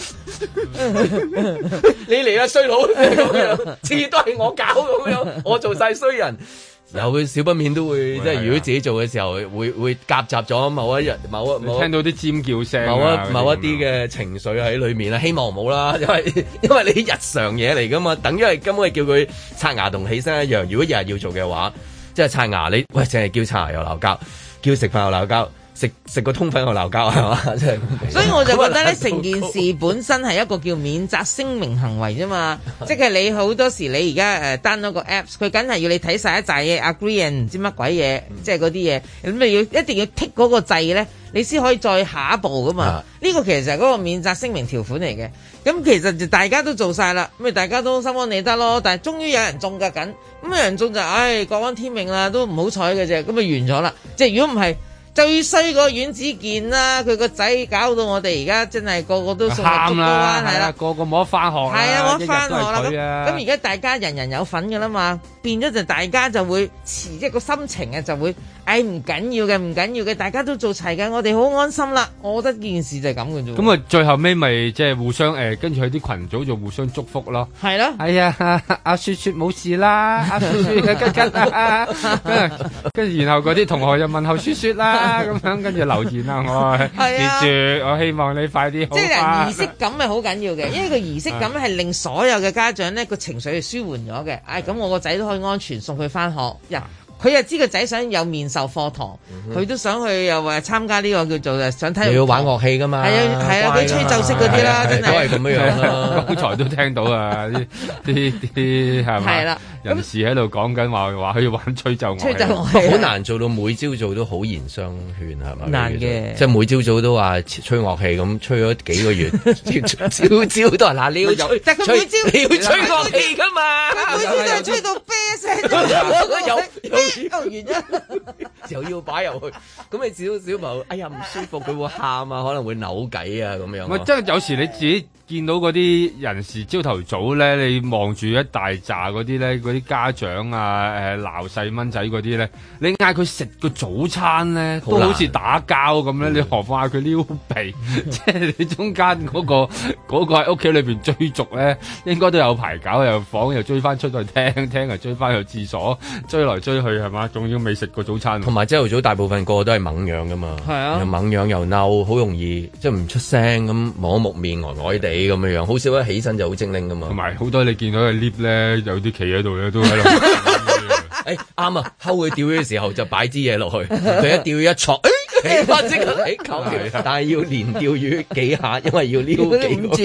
你嚟啦衰佬咁樣，次都係我搞咁樣，我做晒衰人。有少不免都會即係如果自己做嘅時候，會夾雜咗某一日某聽到啲尖叫聲， 某一啲嘅情緒喺裏面啦。希望唔好啦，因為你日常嘢嚟噶嘛，等於係根本係叫佢刷牙同起身一樣。如果日日要做嘅話，即係刷牙，你喂淨係叫刷牙又鬧交，叫食飯又鬧交。食個通粉又鬧交係嘛？即係， 所以我就覺得咧，成件事本身係一個叫免責聲明行為啫嘛。即係你好多時你而家down咗個 apps， 佢梗係要你睇晒一紮嘢 agree and 唔知乜鬼嘢，即係嗰啲嘢，咁你要一定要剔嗰個掣咧，你先可以再下一步噶嘛。呢個其實係嗰個免責聲明條款嚟嘅。咁其實就大家都做晒啦，咁咪大家都心安理得咯。但係終於有人中㗎緊，咁有人中就各安天命啦，都唔好彩嘅啫。咁咪完咗啦。即係如果唔係。最衰個阮子健啦，佢個仔搞到我哋而家真係個個都送入竹篙灣，係啦， 個個冇得翻學，係啊， 冇得翻學啦。咁而家大家人人有份噶啦嘛，變咗就大家就會即係個心情啊，就會唔緊要嘅，唔緊要嘅，大家都做齊嘅，我哋好安心啦。我覺得件事就係咁嘅啫。 咁啊，最後尾咪即係互相跟住佢啲群組就互相祝福咯。 係咯， 係啊，阿雪雪冇事啦，阿雪雪跟住然後嗰啲同學又問候雪雪啦。咁樣跟住留言啊，我希望你快啲好返。即係儀式感係好緊要嘅，因為個儀式感係令所有嘅家長咧個情緒係舒緩咗嘅。咁我個仔都可以安全送佢返學。佢又知個仔想有面授課堂，佢都想去又話參加呢個叫做想睇。又要玩樂器㗎嘛？係啊，佢吹奏式嗰啲啦，真係都係咁樣啦。剛才都聽到啊，啲係咪？係啦。人士喺度講緊話佢要玩吹奏樂器，吹奏樂器好難做到每朝早都好言相勸係咪？難嘅，即係每朝早都話吹樂器咁，吹咗幾個月，朝都係嗱你要吹，但佢每朝你要吹樂器㗎嘛，佢每朝都係吹到啤聲，完咗又要擺入去，咁你小朋友哎呀唔舒服，佢會喊啊，可能會扭計啊咁樣。唔係，即係有時你自己見到嗰啲人士朝頭早咧，你望住一大紮嗰啲咧，嗰啲家長啊鬧細蚊仔嗰啲咧，你嗌佢食個早餐咧，都好似打交咁咧，你何況嗌佢撩鼻，即係你中間嗰個喺屋企裏邊追逐咧，應該都有排搞，又房又追翻出去廳又追翻去廁所，追來追去係嘛，仲要未食過早餐。同埋朝頭早大部分個個都係懵樣噶嘛，係啊，又懵樣又嬲，好容易即係唔出聲咁，摸木面呆呆地咁樣樣，好少一起身就好精靈噶嘛。同埋好多你見到嘅 lift 咧，有啲企喺度咧，都喺度。啱啊，睺佢釣魚嘅時候就擺支嘢落去，佢一釣魚一戳，起翻即刻起球，但係要連釣魚幾下，因為要撩幾個。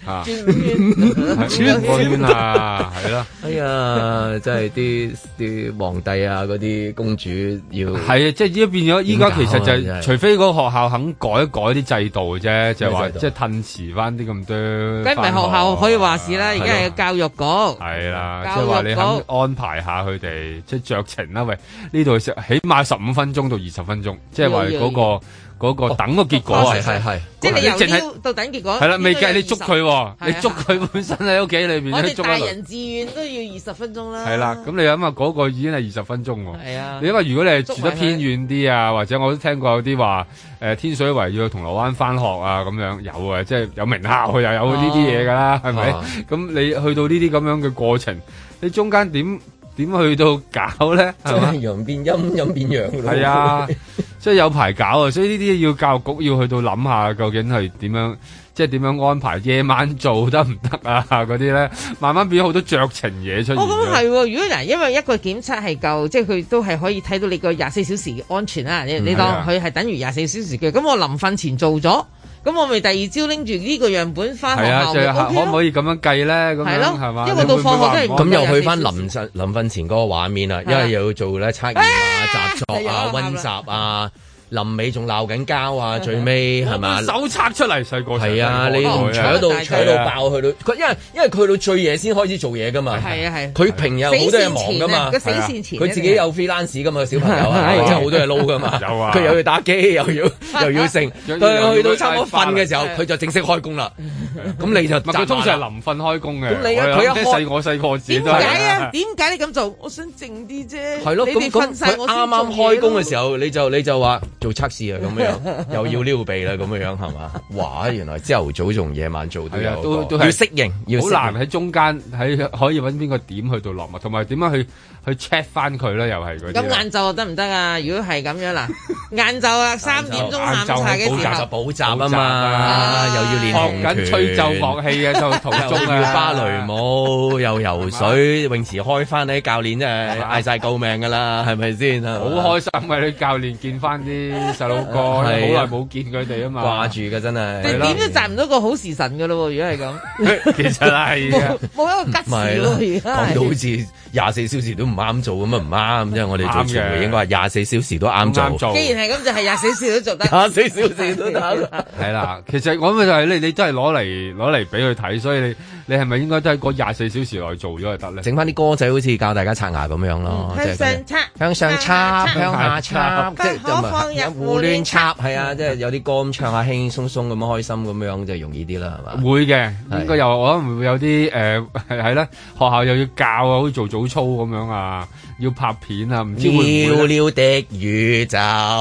轉啊，係啦。 哎呀，真係啲皇帝啊，嗰啲公主要係啊，即係依家變咗，依家其實就係除非嗰個學校肯改一改啲制度啫，就係話即係褪遲翻啲咁多。 梗唔係學校可以話事啦，而家係教育局。係啦，即係話你肯安排下佢哋，即係酌情啦。喂，呢度起碼15分鐘到20分鐘，即係話嗰個等個結果係， 即係你由撩到等結果。係啦，未計你捉佢，你捉佢本身喺屋企裏邊， 我哋大人自願都要20分鐘啦。 係啦，咁你諗下嗰個已經係20分鐘喎。 係啊， 你因為如果你係住得偏遠啲啊，或者我都聽過有啲話天水圍要去銅鑼灣返學啊咁樣有啊，即係有名校又有呢啲嘢㗎啦，係咪？咁你去到呢啲咁樣嘅過程，你中間點去到搞咧？係嘛？ 陽變陰，陰變陽。 係啊，即係有排搞啊！所以呢啲要教育局要去到諗下，究竟係點樣，即係點樣安排夜晚做得唔得啊？嗰啲咧，慢慢變咗好多酌情嘢出現。 咁係喎，如果嗱，因為一個檢測係夠，即係佢都係可以睇到你個24小時安全啦。你當佢係等於24小時嘅，咁我臨瞓前做咗。咁我咪第二朝拎住呢個樣本翻學校， 可唔可以咁樣計咧？咁樣係嘛？ 因為到放學都係咁又去翻臨瞓前嗰個畫面啦，因為又要做咧測驗啊、習作啊、溫習啊。臨尾仲鬧緊交啊！最尾係咪手冊出嚟細個係啊！你搶到爆去到佢，因為佢去到最夜先開始做嘢噶嘛。係啊係。佢平日好多嘢忙噶嘛。 死線前佢自己有 freelance 噶嘛，小朋友啊，即係好多嘢撈噶嘛。有啊。佢又要打機，又要剩。到去到差唔多瞓嘅時候，佢就正式開工啦。咁你就佢通常係臨瞓開工嘅。 咁你佢一開我細個時都係。點解啊？點解你咁做？我想靜啲啫。 係咯。咁佢啱啱開工嘅時候，你就話。做測試啊，咁樣又要撩鼻啦，咁樣係嘛？哇！原來朝頭早同夜晚做都有，都要適應， 好難喺中間可以揾邊個點去到落墨，同埋點樣去 check 翻佢咧？又係嗰啲。 咁晏晝得唔得啊？如果係咁樣嗱，晏晝啊3點鐘下午茶嘅時候補習啊嘛，又要練學緊吹奏樂器嘅就途中要芭蕾舞，又游水，泳池開翻啲教練真係嗌晒救命㗎啦，係咪先？ 好開心啊！啲教練見翻啲細佬哥，好耐冇見佢哋啊嘛， 掛住㗎真係。 點都賺唔到個好時辰㗎咯喎！如果係咁， 其實係冇一個吉時咯，而家講到好似24小時都唔啱做咁啊，唔啱，即係我哋做傳媒應該係24小時都啱做。 既然係咁，就係24小時都做得。 24小時都得。 係啦，其實我咪就係你都係攞嚟俾佢睇，所以你係咪應該都喺嗰24小時內做咗就得咧？ 整翻啲歌仔好似教大家刷牙咁樣咯，向上插，向下插，即係就胡亂插，係啊，即係有啲歌咁唱下輕輕鬆鬆咁樣開心咁樣就容易啲啦，係嘛？ 會嘅，應該又可能會有啲係咧，學校又要教啊，好似做早操咁樣啊，要拍片啊，唔知會唔會寥寥的宇宙，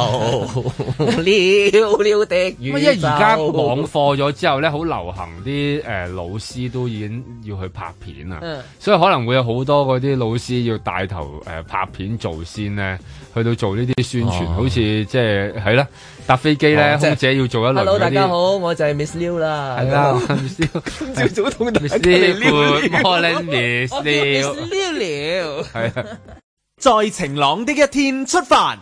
寥寥的宇宙。 因為而家網課咗之後咧，好流行啲老師都已經要去拍片啊，所以可能會有好多嗰啲老師要帶頭拍片做先咧，去到做呢啲宣傳，好似即係啦，搭飛機咧，空姐要做一輪。 Hello， 大家好，我就係 Miss Liu 啦。 係啦，Miss Liu， 今朝早同大家 Good morning，Miss Liu。 係啊， 在晴朗的一天出發。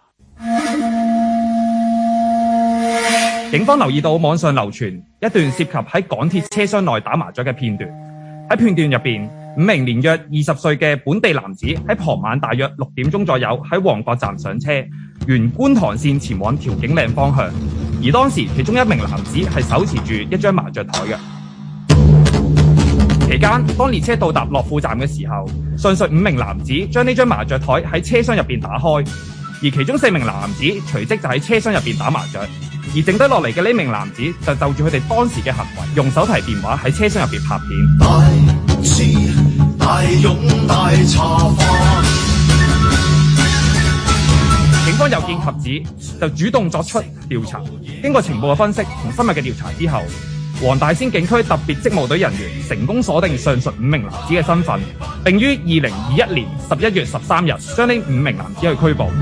警方留意到網上流傳一段涉及喺港鐵車廂內打麻雀嘅片段。喺片段入邊，5名年約20歲嘅本地男子喺傍晚大約6點鐘左右喺旺角站上車，沿觀塘線前往調景嶺方向。而當時其中一名男子係手持住一張麻雀台嘅。期間，當列車到達樂富站嘅時候，上述5名男子將呢張麻雀台喺車廂入邊打開，而其中4名男子隨即就喺車廂入邊打麻雀。而剩低落嚟嘅呢名男子就住佢哋當時嘅行為，用手提電話喺車廂入邊拍片。大智大勇大茶飯。警方有見及此，就主動作出調查。經過情報嘅分析同深入嘅調查之後，黃大仙警區特別職務隊人員成功鎖定上述5名男子嘅身份，並於2021年11月13日將呢5名男子去拘捕。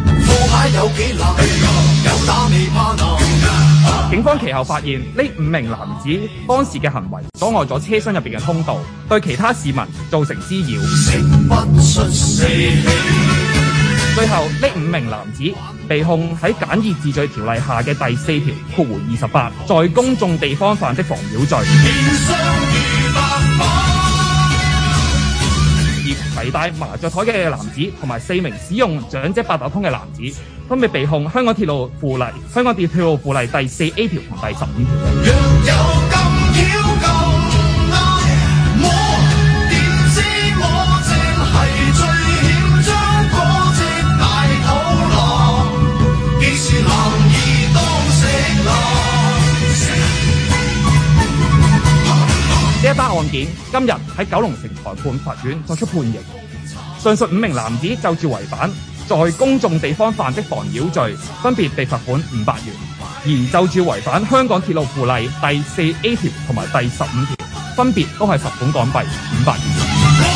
警方其後發現呢5名男子當時嘅行為阻礙咗車廂入邊嘅通道，對其他市民造成滋擾。 最後呢5名男子被控喺簡易治罪條例下嘅第4條28，在公眾地方犯的妨擾罪。而攜帶麻雀台嘅男子同埋4名使用長者八達通嘅男子，分別被控香港鐵路附例第4A 條同第15條。呢一單案件今日喺九龍城裁判法院作出判刑，上述5名男子就住違反在公眾地方犯的妨擾罪，分別被罰款500元；而就住違反香港鐵路附例第4A 條同埋第15條，分別都係罰款港幣500元。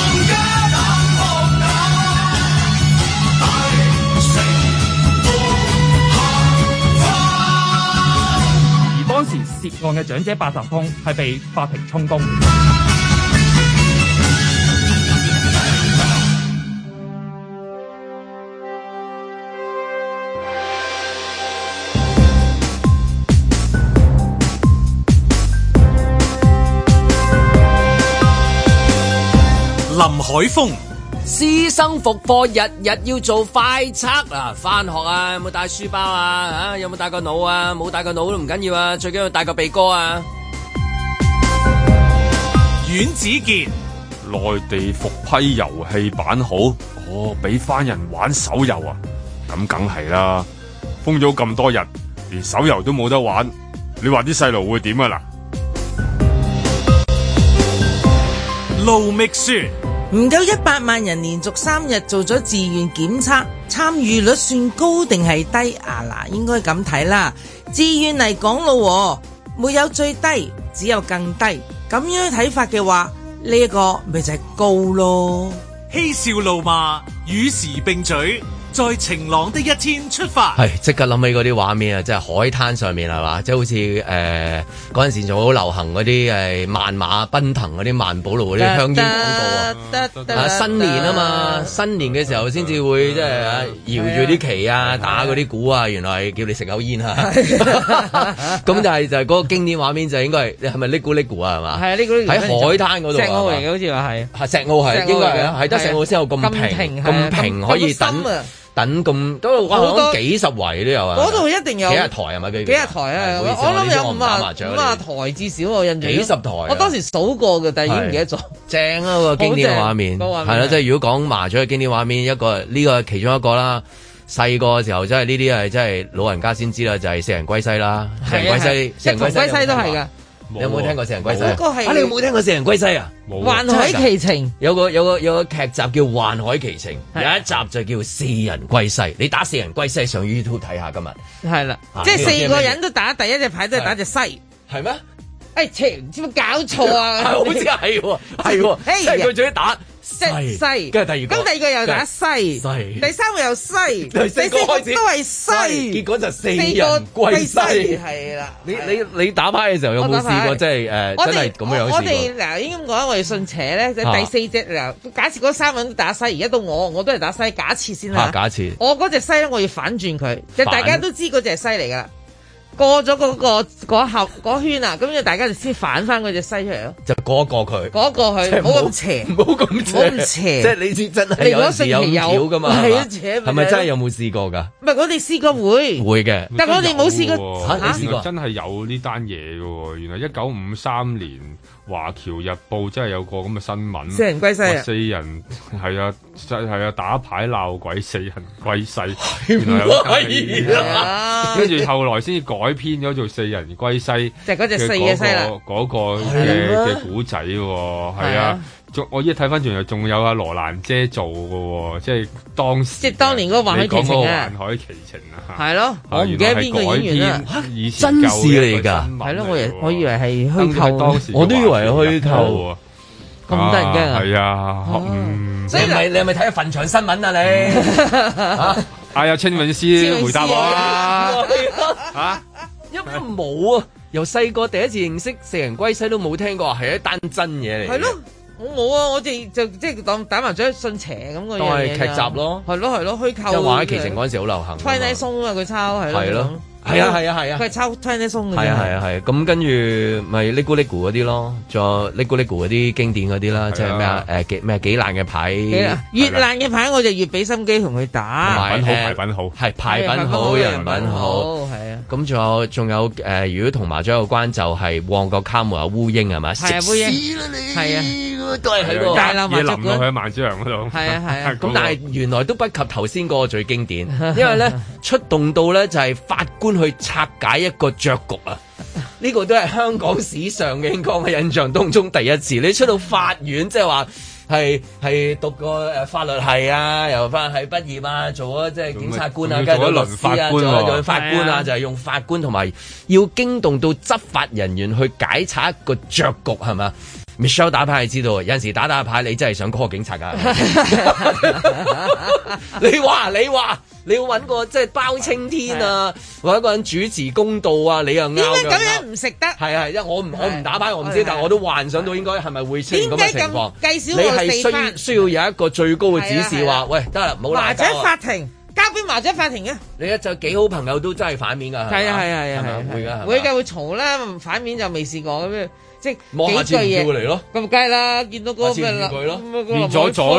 當時涉案嘅長者八達通係被法庭充公。 林海峰， 師生復課日日要做快測啊！返學啊，有冇帶書包啊？有冇帶個腦啊？冇帶個腦都唔緊要啊，最緊要帶個鼻哥啊！ 阮子健， 內地復批遊戲版好，俾翻人玩手遊啊！咁梗係啦，封咗咁多日，連手遊都冇得玩，你話啲細路會點啊嗱？ 盧覓雪。 唔夠100萬人連續3日做咗自願檢測，參與率算高定係低啊？嗱，應該咁睇啦。自願嚟講咯，沒有最低，只有更低。咁樣睇法嘅話，呢一個咪就係高咯。 嬉笑怒罵，與時並舉。在晴朗的一天出發， 係即刻諗起嗰啲畫面啊！即係海灘上面係嘛，即係好似嗰陣時仲好流行嗰啲萬馬奔騰嗰啲萬寶路嗰啲香煙廣告啊！新年啊嘛，新年嘅時候先至會即係搖住啲旗啊，打嗰啲鼓啊，原來係叫你食口煙啊！咁就係嗰個經典畫面就應該係咪呢咕呢咕啊？係嘛？係啊，呢咕喺海灘嗰度，石澳嚟嘅好似話係，石澳係應該係啊，係得石澳先有咁平可以等咁都哇，好幾十圍都有啊！嗰度一定有幾日台係咪？幾日台啊！我諗有50台至少我印象。幾十台，我當時數過嘅，但係已經唔記得咗。正啊個經典畫面，係啦，即係如果講麻雀嘅經典畫面，呢個係其中一個啦。細個嘅時候真係呢啲係真係老人家先知啦，就係四人歸西啦，四人歸西，四人歸西都係㗎。你有冇聽過四人歸西？你有冇聽過四人歸西啊？幻海奇情有個劇集叫《幻海奇情》，有一集就叫四人歸西。你打四人歸西上 YouTube 睇下今日。係啦，即係4個人都打第一隻牌都係打隻西，係咩？唔知冇搞錯啊！好似係喎，係喎，即係佢最打西，跟住第二個又打西，第三個又西，第四個開始都係西，結果就四人歸西。係啦，你打牌嘅時候有冇試過即係真係咁樣試過？我哋嗱應該咁講，我哋信邪咧，第4隻嗱，假設嗰3個人都打西，而家到我都係打西，假設先啦。假設我嗰隻西咧，我要反轉佢，即係大家都知嗰隻係西嚟噶啦。過咗嗰圈啊，咁就大家就先反翻嗰隻西出嚟咯。就過一過佢，過一過去，唔好咁邪，唔好咁邪。即係你知真係有時有橋噶嘛？係咪真係有冇試過㗎？唔係我哋試過會嘅，但係我哋冇試過嚇。試過真係有呢單嘢㗎喎。原來1953年華僑日報真係有個咁嘅新聞，四人歸西啊！四人係啊，打牌鬧鬼，四人歸西。原來有跟住後來先至改編咗做四人歸西，即係嗰隻四嘅西啦，嗰個嘅古仔喎，係啊，我依家睇翻轉頭仲有阿羅蘭姐做嘅喎，即係當年嗰個幻海奇情啊，幻海奇情啊，係咯，我唔記得邊個演員啦，真事嚟㗎，係咯，我以為係虛構，我都以為係虛構，咁得人驚啊，係啊，所以你係咪睇咗墳場新聞啊你？嗌阿清永師回答我啊！因為冇啊，由細個第一次認識四人歸西都冇聽過，係一單真嘢嚟。係咯， 我冇啊，我哋就即係當打麻雀信邪咁個樣嘢。當係劇集咯， 係咯，虛構。 即係話喺奇情嗰陣時好流行。Twilight Zone 啊，佢抄係咯。 係啊， 佢係抄 Twilight Zone 嘅。 係咁跟住咪 Lego 嗰啲咯，仲有 Lego 嗰啲經典嗰啲啦，即係咩啊？幾爛嘅牌， 越爛嘅牌我就越俾心機同佢打。 牌品好， 係牌品好，人品好， 係啊。 咁仲有如果同麻雀有關就係旺角卡門有烏蠅係咪？ 係啊，烏蠅係啊，都係喺個大鬧麻雀館去萬子陽嗰度。 係啊。 咁但係原來都不及頭先嗰個最經典，因為咧出動到咧就係法官去拆解一個雀局啊！呢個都係香港史上嘅，應該我印象當中第一次。你出到法院，即係話係讀過法律系啊，又翻係畢業啊，做咗即係警察官啊，跟住做咗律師啊，做咗法官啊，就係用法官同埋要驚動到執法人員去解拆一個雀局，係咪？Michelle 打牌係知道，有陣時打牌你真係想 call 警察㗎。你話你要揾個即係包青天啊，或者一個人主持公道啊，你又啱。點解咁樣唔食得？ 係，因為我唔打牌，我唔知，但我都幻想到應該係咪會出現咁嘅情況。 計少你係需要有一個最高嘅指示話，喂，得啦，唔好麻雀法庭交俾麻雀法庭嘅。 你就幾好朋友都真係反面㗎。係啊，會㗎會嘈啦，反面就未試過咁樣。即係望下字叫嚟咯， 咁梗係啦，見到嗰個咩啦， 變咗啦，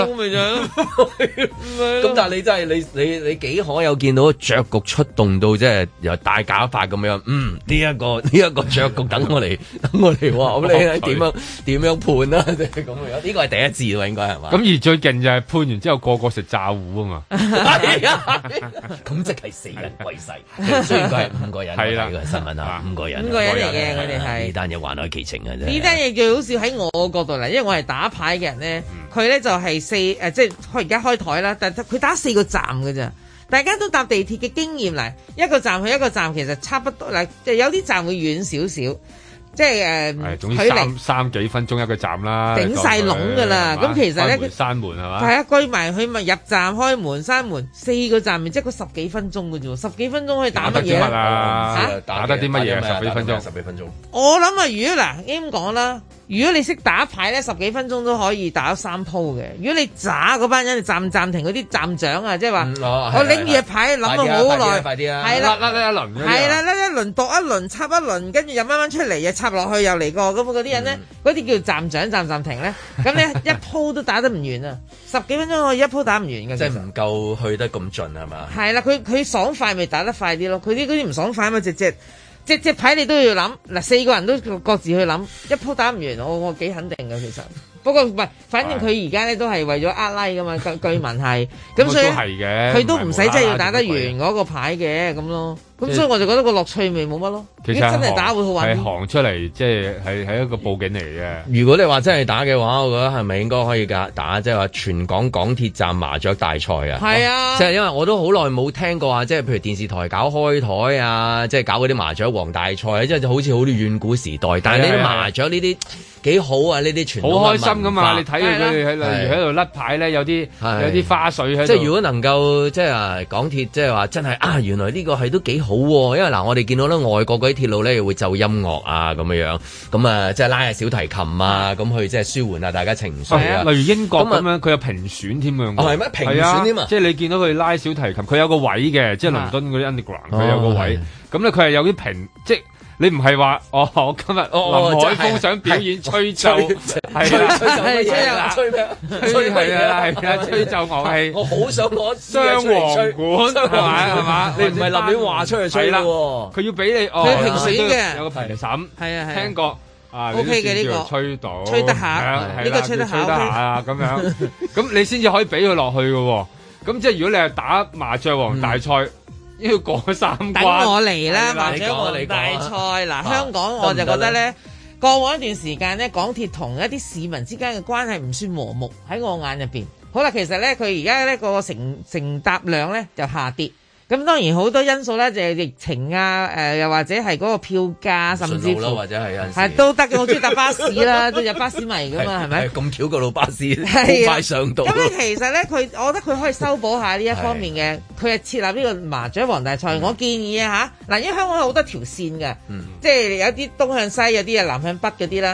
咁但係你真係你幾可有見到雀局出動到即係由大假法咁樣，呢一個雀局等我嚟話，咁你點樣判啦？即係咁樣，呢個係第一次喎，應該係嘛？ 咁而最勁就係判完之後個個食炸糊啊嘛， 咁即係死人歸世，雖然佢係5個人，係啦，呢個新聞啊，5個人嚟嘅，我哋係呢單嘢還愛其情。 呢單嘢最好笑喺我角度嚟，因為我係打牌嘅人咧，佢咧就係即係而家開台啦，但係佢打4個站嘅咋，大家都搭地鐵嘅經驗嚟，一個站去一個站其實差不多嗱，有啲站會遠少少。即係總之三幾分鐘一個站啦， 頂晒籠㗎啦。咁其實咧， 閂門係嘛？ 係啊，居埋佢咪入站開門閂門4個站，咪即係個10幾分鐘嘅啫喎，10幾分鐘可以打乜嘢啊？ 打得啲乜嘢？10幾分鐘， 我諗啊，如果嗱咁講啦，如果你識打牌咧，10幾分鐘都可以打3鋪嘅。如果你渣嗰班人，暫停嗰啲站長啊，即係話我拎住隻牌諗咗好耐，係啦， 甩一輪， 係啦，甩一輪度一輪插一輪，跟住又慢慢出嚟又插落去又嚟過，咁嗰啲人咧，嗰啲叫站長暫停咧，咁你一鋪都打得唔完啊！10幾分鐘可以一鋪打唔完嘅， 即係唔夠去得咁盡係嘛？係啦，佢爽快咪打得快啲咯，佢啲嗰啲唔爽快嘛，隻牌你都要諗嗱，4個人都各自去諗，一鋪打唔完，我幾肯定嘅其實。不過唔係，反正佢而家咧都係為咗拉㗎嘛，據聞係，咁所以佢都唔使真係要打得完嗰個牌嘅咁咯。咁所以我就覺得個樂趣味冇乜咯。 其實真係打會好玩啲。 係行出嚟，即係一個報警嚟嘅。 如果你話真係打嘅話，我覺得係咪應該可以打即係話全港港鐵站麻雀大賽啊？ 係啊， 即係因為我都好耐冇聽過啊，即係譬如電視台搞開台啊，即係搞嗰啲麻雀王大賽，即係好似好似遠古時代。但係呢啲麻雀呢啲幾好啊！呢啲傳統好開心噶嘛！你睇佢哋例如喺度甩牌咧，有啲花絮喺度。 即係如果能夠即係港鐵即係話真係啊，原來呢個係都幾好喎！因為嗱，我哋見到咧外國嗰啲鐵路咧，又會奏音樂啊咁樣，咁啊即係拉下小提琴啊，咁去即係舒緩下大家情緒啊。 例如英國咁樣，佢有評選添啊。 係咩？評選添啊！ 即係你見到佢拉小提琴，佢有個位嘅，即係倫敦嗰啲 underground，佢有個位。咁咧佢係有啲評即。你唔係話我今日林海峰想表演吹奏，係啦， 吹咩？ 吹奏樂器。 我好想攞雙簧管，係嘛？你唔係立亂話出去吹啦。佢要俾你佢評選嘅， 有個評審。係啊， 聽過啊 ，OK 嘅呢個吹到， 吹得下，呢個吹得下啊咁樣。咁你先至可以俾佢落去嘅。咁即係如果你係打麻雀王大賽。要過3關， 等我嚟啦！麻雀王大賽嗱，香港我就覺得咧，過往一段時間咧，港鐵同一啲市民之間嘅關係唔算和睦喺我眼入邊。好啦，其實咧佢而家咧個乘搭量咧就下跌。咁當然好多因素咧，就係疫情啊，又或者係嗰個票價，甚至乎或者係有陣時係都得嘅。我中意搭巴士啦，都有巴士迷噶嘛，係咪？ 咁巧個路巴士好快上到。 咁咧其實咧，我覺得佢可以修補下呢一方面嘅。佢係設立呢個麻雀王大賽，我建議啊嚇嗱，因為香港有好多條線嘅，即係有啲東向西，有啲係南向北嗰啲啦。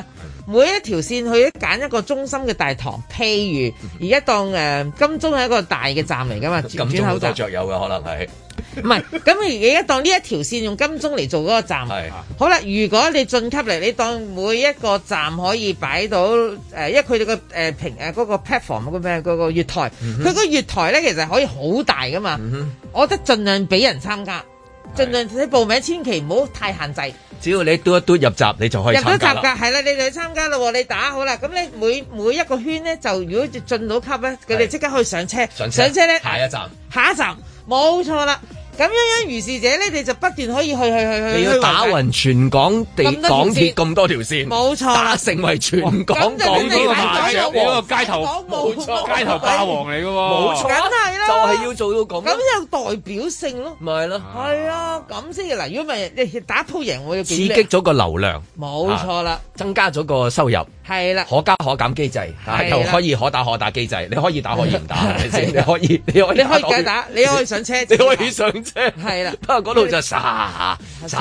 每一條線去揀一個中心嘅大堂，譬如而家當金鐘係一個大嘅站嚟噶嘛， 金鐘好多雀友嘅可能係。 唔係，咁而家當呢一條線用金鐘嚟做嗰個站，好啦。如果你晉級嚟，你當每一個站可以擺到因為佢哋個嗰個 platform 嗰個月台，佢個月台咧其實可以好大噶嘛。我覺得盡量俾人參加，盡量你報名，千祈唔好太限制。 只要你嘟一嘟入閘，你就可以參加啦。入咗閘㗎，係啦，你就去參加咯。你打好啦，咁你每一個圈咧，就如果進到級咧，佢哋即刻可以上車。上車咧，下一站，冇錯啦。咁樣如是者咧，你就不斷可以去。你要打勻全港港鐵咁多條線，冇錯，打成為全港港鐵麻雀王， 街頭冇錯，街頭霸王嚟嘅喎， 冇錯， 梗係啦， 就係要做到咁， 咁有代表性咯，咪係咯，係啊，咁先嘅嗱。如果唔係你打鋪贏，我要刺激咗個流量，冇錯啦，增加咗個收入，係啦，可加可減機制，又可以可打可打機制，你可以打可以唔打，係咪先？你可以繼續打，你可以上車，你可以上。係啦，不過嗰度就沙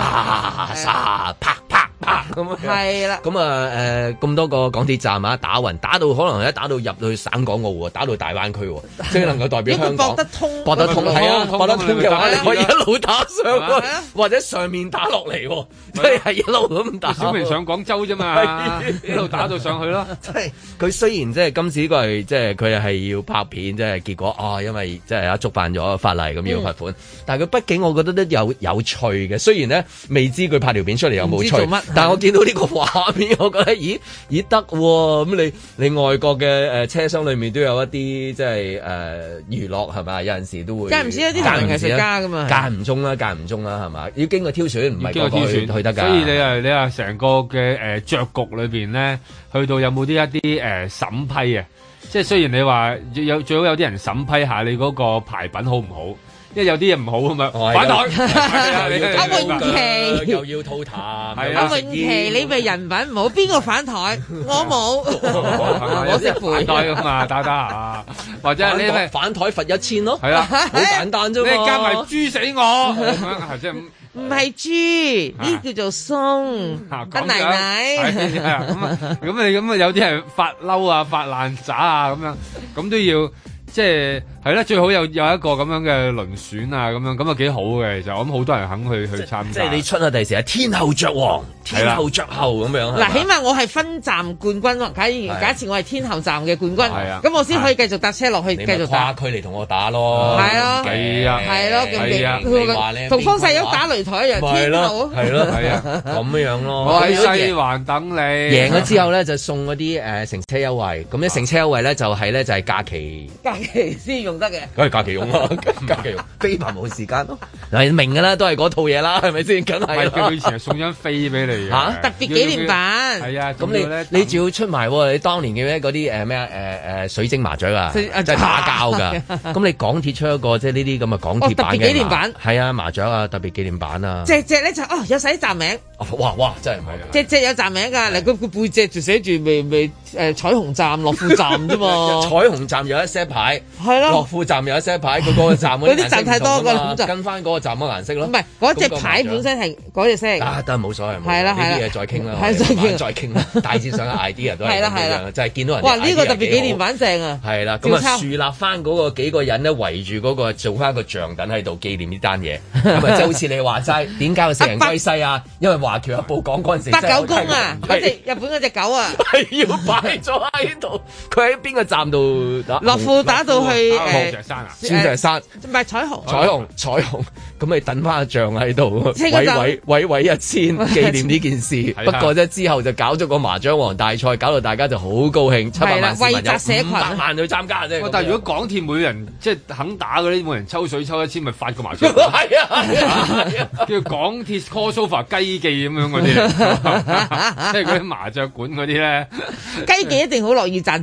啪咁係啦。咁啊咁多個港鐵站啊，打勻打到可能一打到入去省港澳喎，打到大灣區喎，即係能夠代表香港。駁得通係啊，駁得通嘅話，你可以一路打上去，或者上面打落嚟喎，即係一路咁打。 小明上廣州啫嘛，一路打到上去咯。 即係佢雖然即係今次呢個係即係佢係要拍片，即係結果因為即係觸犯咗法例咁要罰款，但係佢畢竟我覺得都有趣嘅。雖然咧未知佢拍條片出嚟有冇趣，但係我見到呢個畫面，我覺得咦得喎。咁你外國嘅車廂裏面都有一啲即係娛樂係咪？有陣時都會間唔時有啲流行藝術家㗎嘛，間唔中啦係嘛？要經過挑選，唔係個個去得㗎。 所以你話成個嘅雀局裏邊咧，去到有冇啲一啲審批啊？即係雖然你話最好有啲人審批下你嗰個牌品好唔好。因為有啲嘢唔好啊嘛，反台阿詠琪又要吐痰， 阿詠琪你咪人品唔好，邊個反台？我冇，我識反台㗎嘛，打下，或者你咪反台罰1000咯，係啊，好簡單啫嘛， 你加埋豬死我，即係唔係豬，呢叫做鬆，得奶奶， 咁你咁有啲人發嬲啊，發爛渣啊，咁都要。即係啦，最好有一個咁樣嘅輪選啊，咁啊幾好嘅，其實我諗好多人肯去參加。 即係你出下第時係天后雀王、天后雀后咁樣。 嗱，起碼我係分站冠軍咯。假設我係天后站嘅冠軍，咁我先可以繼續搭車落去繼續打。 跨區嚟同我打咯。 係咯，係咯，同方世玉打擂台一樣，天后。 係咯，係啊，咁樣咯。 我喺西環等你。 贏咗之後咧，就送嗰啲乘車優惠。咁啲乘車優惠咧就係假期。 期先用得嘅， 梗係假期用啦，假期用，飛埋冇時間咯。嗱，明㗎啦，都係嗰套嘢啦，係咪先？梗係。 佢以前係送張飛俾你嘅， 特別紀念版。 係啊， 咁你仲要出埋喎？你當年嘅嗰啲咩水晶麻雀啊，即係打交㗎。咁你港鐵出一個即係呢啲咁嘅港鐵版嘅紀念版， 係啊，麻雀啊，特別紀念版啊。 隻咧就有寫站名。 哇！真係唔係。 隻有站名㗎，嗱個背脊就寫住未彩虹站、樂富站啫嘛。 彩虹站有一 set 牌。係咯，樂富站有一 set牌，佢嗰個站嗰啲站太多㗎， 就跟翻嗰個站嘅顏色咯。 唔係嗰隻牌本身係嗰隻色。 得冇所謂， 係啦， 呢啲嘢再傾啦，再傾啦。大致上嘅 idea 都係咁樣，就係見到人。 哇！呢個特別紀念版正啊！ 係啦，咁啊樹立翻嗰個幾個人咧圍住嗰個做翻個像等喺度紀念呢單嘢。咁啊，就好似你話齋，點解會四人歸西啊？因為華僑日報講嗰陣時， 八九公啊，嗰隻日本嗰隻狗啊， 係要擺咗喺度。佢喺邊個站度打？ 樂富打到去鑽石山啊！ 鑽石山唔係彩虹， 彩虹，咁你等翻個像喺度，位一千紀念呢件事。不過啫，之後就搞咗個麻將王大賽，搞到大家就好高興，700萬市民有500萬去參加啫。 但係如果港鐵每人即係肯打嗰啲，每人抽水抽1000，咪發個麻將。 係啊， 叫港鐵 crossover 雞記咁樣嗰啲，即係嗰啲麻雀館嗰啲咧。 雞記一定好樂意贊助。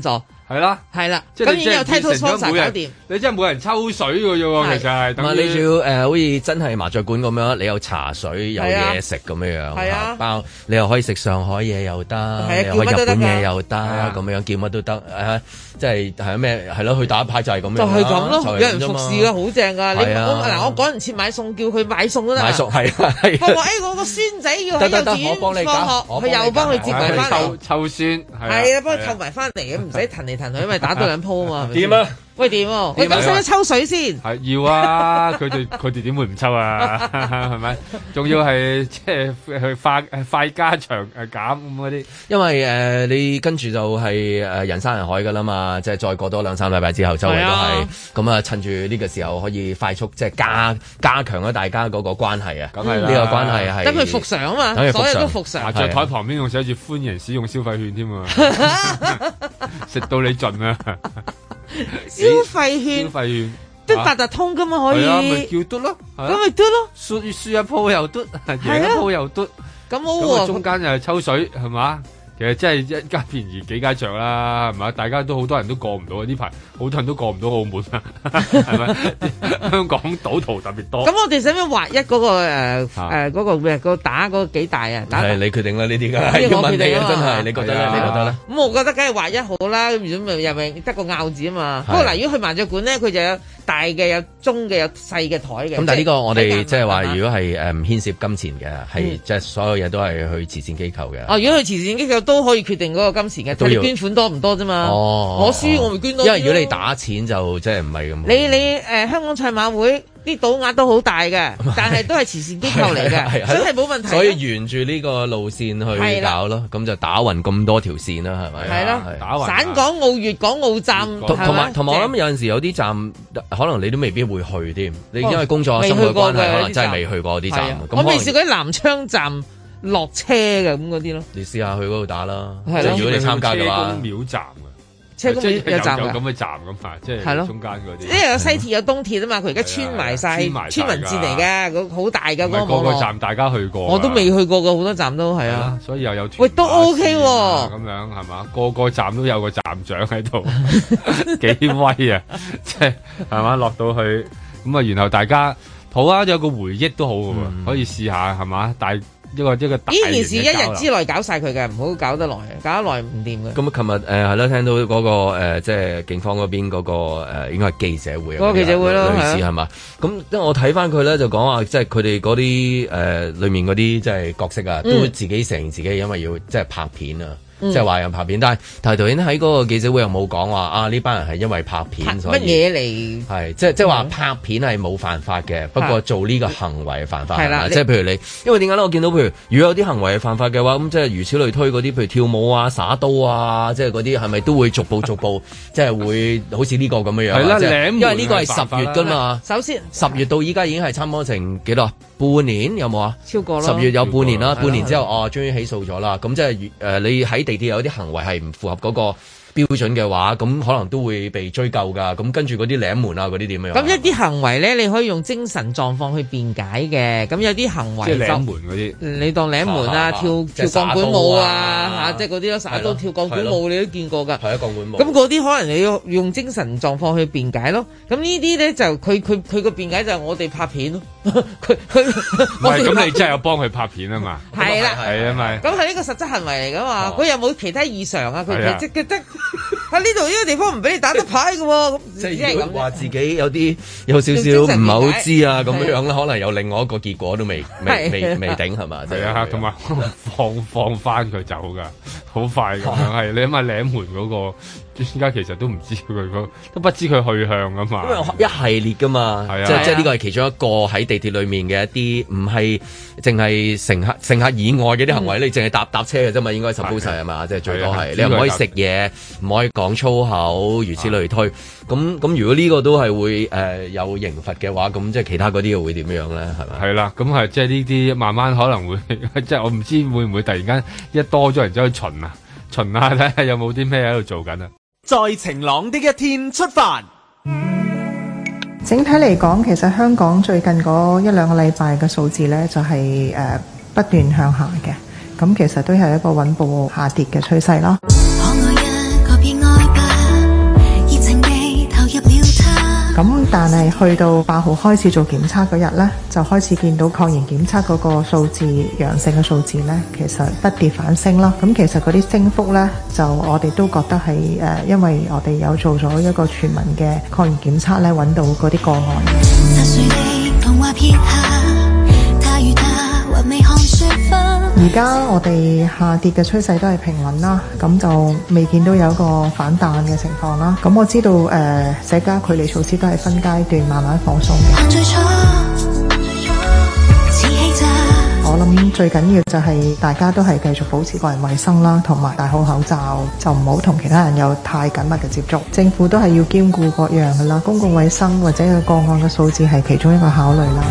係啦， 咁已經有 title sponsor 搞掂。 你真係冇人抽水嘅啫喎，其實係。 咁你仲要好似真係麻雀館咁樣，你有茶水有嘢食咁樣包，你又可以食上海嘢又得，又可以日本嘢又得，咁樣叫乜都得，即係咩係咯？去打牌就係咁樣，就係咁咯，有人服侍㗎，好正㗎。我趕唔切買餸，叫佢買餸都得。買餸係。佢話我個孫仔要喺幼稚園放學，佢又幫佢接埋翻嚟。湊孫係啊，幫佢湊埋翻嚟嘅，唔使騰嚟騰去，因為打多兩鋪啊嘛。點啊？喂，點？喂，咁使唔使抽水先？係要啊！佢哋點會唔抽啊？係咪？仲要係即係去快加長減咁嗰啲。因為你跟住就係人山人海噶啦嘛，即係再過多2-3禮拜之後，周圍都係咁啊！趁住呢個時候可以快速即係加強咗大家嗰個關係啊！咁係呢個關係係等佢復常啊嘛，所有都復常。麻雀台旁邊仲寫住歡迎使用消費券添啊！食到你盡啊！ 消費券都八達通噶嘛，可以咪叫嘟咯， 咁咪嘟咯， 輸一鋪又嘟，贏一鋪又嘟， 咁好喎。 中間又係抽水係嘛？其實真係一家便宜幾家着啦，係嘛？大家都好多人都過唔到呢排，好多人都過唔到澳門啊，係咪？香港賭徒特別多。咁我哋使唔使劃一嗰個嗰個咩？個打嗰個幾大啊？ 係你決定啦，呢啲㗎。我決定啊，真係你覺得咧？你覺得咧？ 咁我覺得梗係劃一好啦，咁如果咪又咪得個拗字啊嘛。不過嗱，如果去麻雀館咧，佢就有大嘅、有中嘅、有細嘅台嘅。 咁但係呢個我哋即係話，如果係唔牽涉金錢嘅，係即係所有嘢都係去慈善機構嘅。 哦，如果去慈善機構都可以決定嗰個金錢嘅，睇你捐款多唔多啫嘛。哦，我輸我咪捐多啲。 因為如果你打錢就即係唔係咁。 你香港賽馬會啲賭額都好大嘅，但係都係慈善機構嚟嘅，真係冇問題。 所以沿住呢個路線去搞咯，咁就打勻咁多條線啦，係咪？ 係咯，打勻。省港澳、粵港澳站， 同埋我諗有陣時有啲站可能你都未必會去添，你因為工作生活關係可能真係未去過啲站。 我未試過喺南昌站落車嘅咁嗰啲咯。 你試下去嗰度打啦，即係如果你參加嘅話。 車公廟站車公廟有站咁嘅站咁嘛，即係中間嗰啲。 因為有西鐵有東鐵啊嘛，佢而家穿埋晒村民線嚟嘅，好大嘅嗰個網絡。 個個站大家去過， 我都未去過嘅，好多站都係啊。 所以又有喂都 OK 喎， 咁樣係嘛？個個站都有個站長喺度，幾威啊！即係係嘛？落到去咁啊，然後大家好啊，有個回憶都好嘅喎，可以試下係嘛？但係一個大呢件事一日之內搞晒佢嘅，唔好搞得耐，搞得耐唔掂嘅。 咁琴日係咯，聽到嗰個即係警方嗰邊嗰個應該係記者會啊， 嗰個記者會咯， 類似係嘛？咁因為我睇翻佢咧就講話，即係佢哋嗰啲裡面嗰啲即係角色啊，都自己承認自己因為要即係拍片啊。即係話人拍片，但係導演喺嗰個記者會又冇講話啊！呢班人係因為拍片，所以乜嘢嚟？ 係即係話拍片係冇犯法嘅，不過做呢個行為係犯法係啦。即係譬如你，因為點解咧？我見到譬如如果有啲行為係犯法嘅話，咁即係如此類推嗰啲，譬如跳舞啊、耍刀啊，即係嗰啲係咪都會逐步即係會好似呢個咁樣樣？係啦，因為呢個係10月㗎嘛。 首先 10月到依家已經係差唔多成幾多？半年有冇啊？ 超過啦。 10月有半年啦，半年之後終於起訴咗啦。咁即係你喺地鐵有啲行為係唔符合嗰個標準嘅話，咁可能都會被追究㗎。咁跟住嗰啲領門啊，嗰啲點樣？ 咁一啲行為咧，你可以用精神狀況去辯解嘅。咁有啲行為即係領門嗰啲， 你當領門啊，跳鋼管舞啊，即係嗰啲咯，耍刀跳鋼管舞你都見過㗎。係啊，鋼管舞。咁嗰啲可能你要用精神狀況去辯解咯。咁呢啲咧就佢個辯解就係我哋拍片咯。佢唔係咁，你真係有幫佢拍片啊嘛？ 係啦， 係啊咪。 咁係呢個實質行為嚟㗎嘛？佢有冇其他異常啊？佢即係得喺呢度呢個地方唔俾你打得牌㗎喎。咁即係如果話自己有少少唔係好知啊咁樣啦，可能有另外一個結果都未頂係嘛？ 係啊，同埋放翻佢走㗎，好快咁樣係。你諗下領門嗰個。專家其實都唔知佢都不知佢去向㗎嘛，因為一系列㗎嘛，即係呢個係其中一個喺地鐵裡面嘅一啲唔係淨係乘客以外嘅啲行為，你淨係搭車嘅啫嘛，應該suppose係嘛，即係最多係你唔可以食嘢，唔可以講粗口，如此類推。咁如果呢個都係會有刑罰嘅話，咁即係其他嗰啲又會點樣咧？係咪？ 係啦，咁係即係呢啲慢慢可能會，即係我唔知會唔會突然間一多咗人走去巡下睇下有冇啲咩喺度做緊啊！ 在晴朗的一天出發。 整體嚟講，其實香港最近嗰1-2個禮拜嘅數字呢，就係不斷向下嘅，咁其實都係一個穩步下跌嘅趨勢啦。 但係去到8號開始做檢測嗰日呢，就開始見到抗原檢測嗰個數字陽性嘅數字呢，其實不跌反升啦。咁其實嗰啲升幅呢，就我哋都覺得係因為我哋有做咗一個全民嘅抗原檢測呢，揾到嗰啲個案。而家我哋下跌嘅趨勢都係平穩啦，咁就未見到有一個反彈嘅情況啦。咁我知道社交距離措施都係分階段慢慢放鬆嘅。我諗最緊要就係大家都係繼續保持個人衛生啦，同埋戴好口罩，就唔好同其他人有太緊密嘅接觸。政府都係要兼顧各樣噶啦，公共衛生或者個案嘅數字係其中一個考慮啦。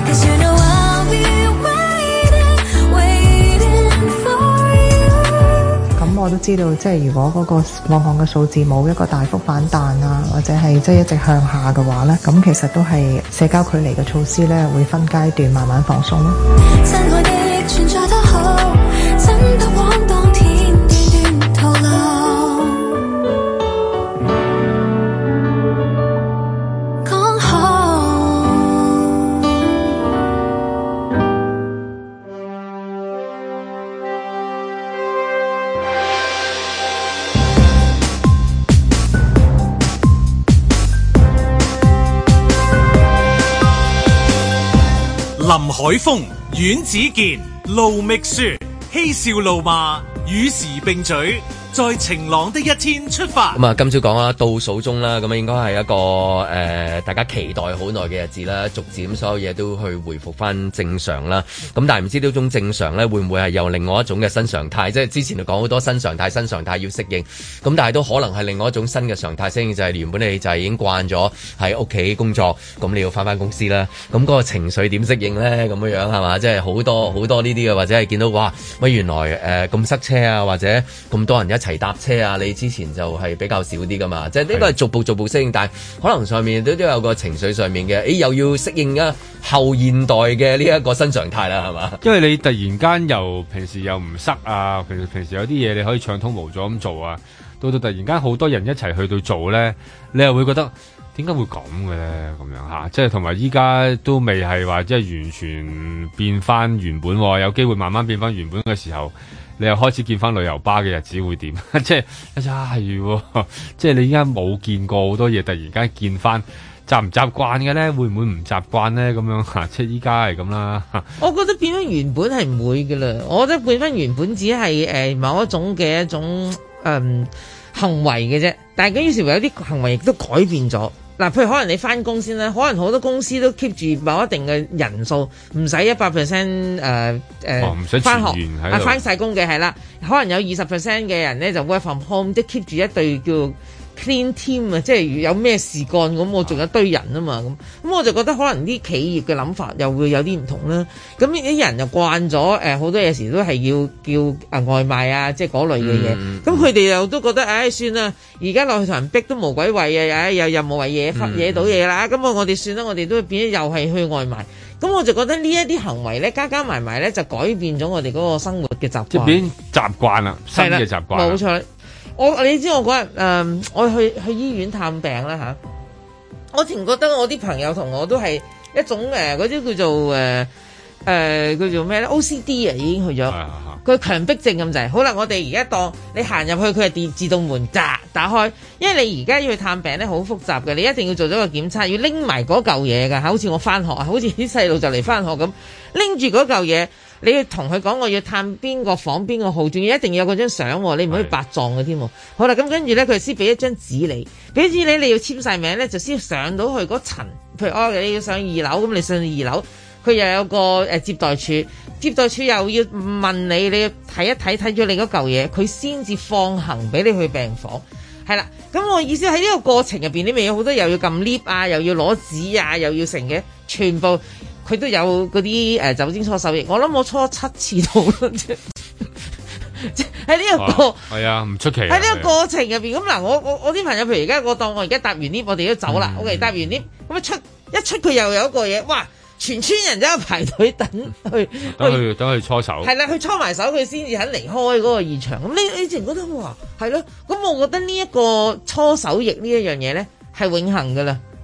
我都知道，即係如果嗰個個案嘅數字冇一個大幅反彈啊，或者係即係一直向下嘅話呢，咁其實都係社交距離嘅措施呢，會分階段慢慢放鬆咯。 林海峰、阮子健、盧覓雪，嬉笑怒罵，與時並舉，在晴朗的一天出發。 咁啊，今朝講啦，倒數中啦，咁啊應該係一個大家期待好耐嘅日子啦，逐漸所有嘢都去回復翻正常啦。咁但係唔知呢種正常咧，會唔會係有另外一種嘅新常態？即係之前就講好多新常態要適應，咁但係都可能係另外一種新嘅常態適應，就係原本你就係已經慣咗喺屋企工作，咁你要翻公司啦。咁嗰個情緒點適應咧？咁樣係嘛？即係好多呢啲嘅，或者係見到哇，乜原來咁塞車啊，或者咁多人一齊搭車啊，你之前就係比較少啲噶嘛，即係呢個係逐步適應，但係可能上面都有個情緒上面嘅，又要適應啊後現代嘅呢一個新常態啦，係嘛？因為你突然間又平時又唔塞啊，平時有啲嘢你可以暢通無阻咁做啊，到突然間好多人一齊去到做咧，你又會覺得點解會咁嘅咧？咁樣嚇，即係同埋依家都未係話即係完全變翻原本，有機會慢慢變翻原本嘅時候。你又開始見翻旅遊巴嘅日子會點？即係係即係你依家冇見過好多嘢，突然間見翻，習唔習慣嘅咧？會唔會唔習慣咧？咁樣嚇，即係依家係咁啦。 我覺得變翻原本係唔會㗎啦。我覺得變翻原本只係某一種嘅一種行為嘅啫。但係於是乎有啲行為亦都改變咗。嗱，譬如可能你翻工先啦，可能好多公司都 keep 住某一定嘅人數，唔使100% 翻學翻晒工嘅係啦，可能有20% 嘅人咧就 work from home，即係 keep 住一隊叫 clean team 啊，即係有咩事幹咁，我仲有一堆人啊嘛，咁我就覺得可能啲企業嘅諗法又會有啲唔同啦。咁啲人就慣咗好多嘢時都係要叫外賣啊，即係嗰類嘅嘢。咁佢哋又都覺得算啦，而家落去同人逼都無鬼謂啊，又無謂惹到嘢啦。咁我哋算啦，我哋都變咗又係去外賣。咁我就覺得呢一啲行為咧，加埋埋咧就改變咗我哋嗰個生活嘅習慣，即係變習慣啦，新嘅習慣。冇錯。你知我嗰日我去醫院探病啦嚇，我淨覺得我啲朋友同我都係一種嗰啲叫做叫做咩咧 OCD 啊，已經去咗佢強迫症咁滯。好啦，我哋而家當你行入去，佢係自動門打開，因為你而家要去探病咧好複雜嘅，你一定要做咗個檢測，要拎埋嗰嚿嘢㗎，好似我翻學啊，好似啲細路就嚟翻學咁，拎住嗰嚿嘢。你要同佢講我要探邊個房邊個號，仲要一定要有嗰張相，你唔可以白撞嘅添。好啦，咁跟住咧，佢先俾一張紙你，俾紙你要簽晒名咧，就先上到去嗰層。譬如你要上2樓，咁你上2樓，佢又有個接待處，接待處又要問你，你要睇一睇咗你嗰嚿嘢，佢先至放行俾你去病房。係啦，咁我意思喺呢個過程入邊，你咪有好多又要撳 lift 啊，又要攞紙啊，又要成嘅，全部。佢都有嗰啲酒精搓手液，我諗我搓7次到啦，即喺呢一個係啊，唔出奇喺呢個過程入邊。咁嗱，我啲朋友譬如而家我當我而家搭完 lift，我哋都走啦。OK，搭完 lift 咁一出佢又有一個嘢，哇！全村人都喺度排隊等去搓手，係啦，去搓埋手佢先至肯離開嗰個現場。咁你淨覺得哇，係咯？咁我覺得呢一個搓手液呢一樣嘢咧係永恆噶啦。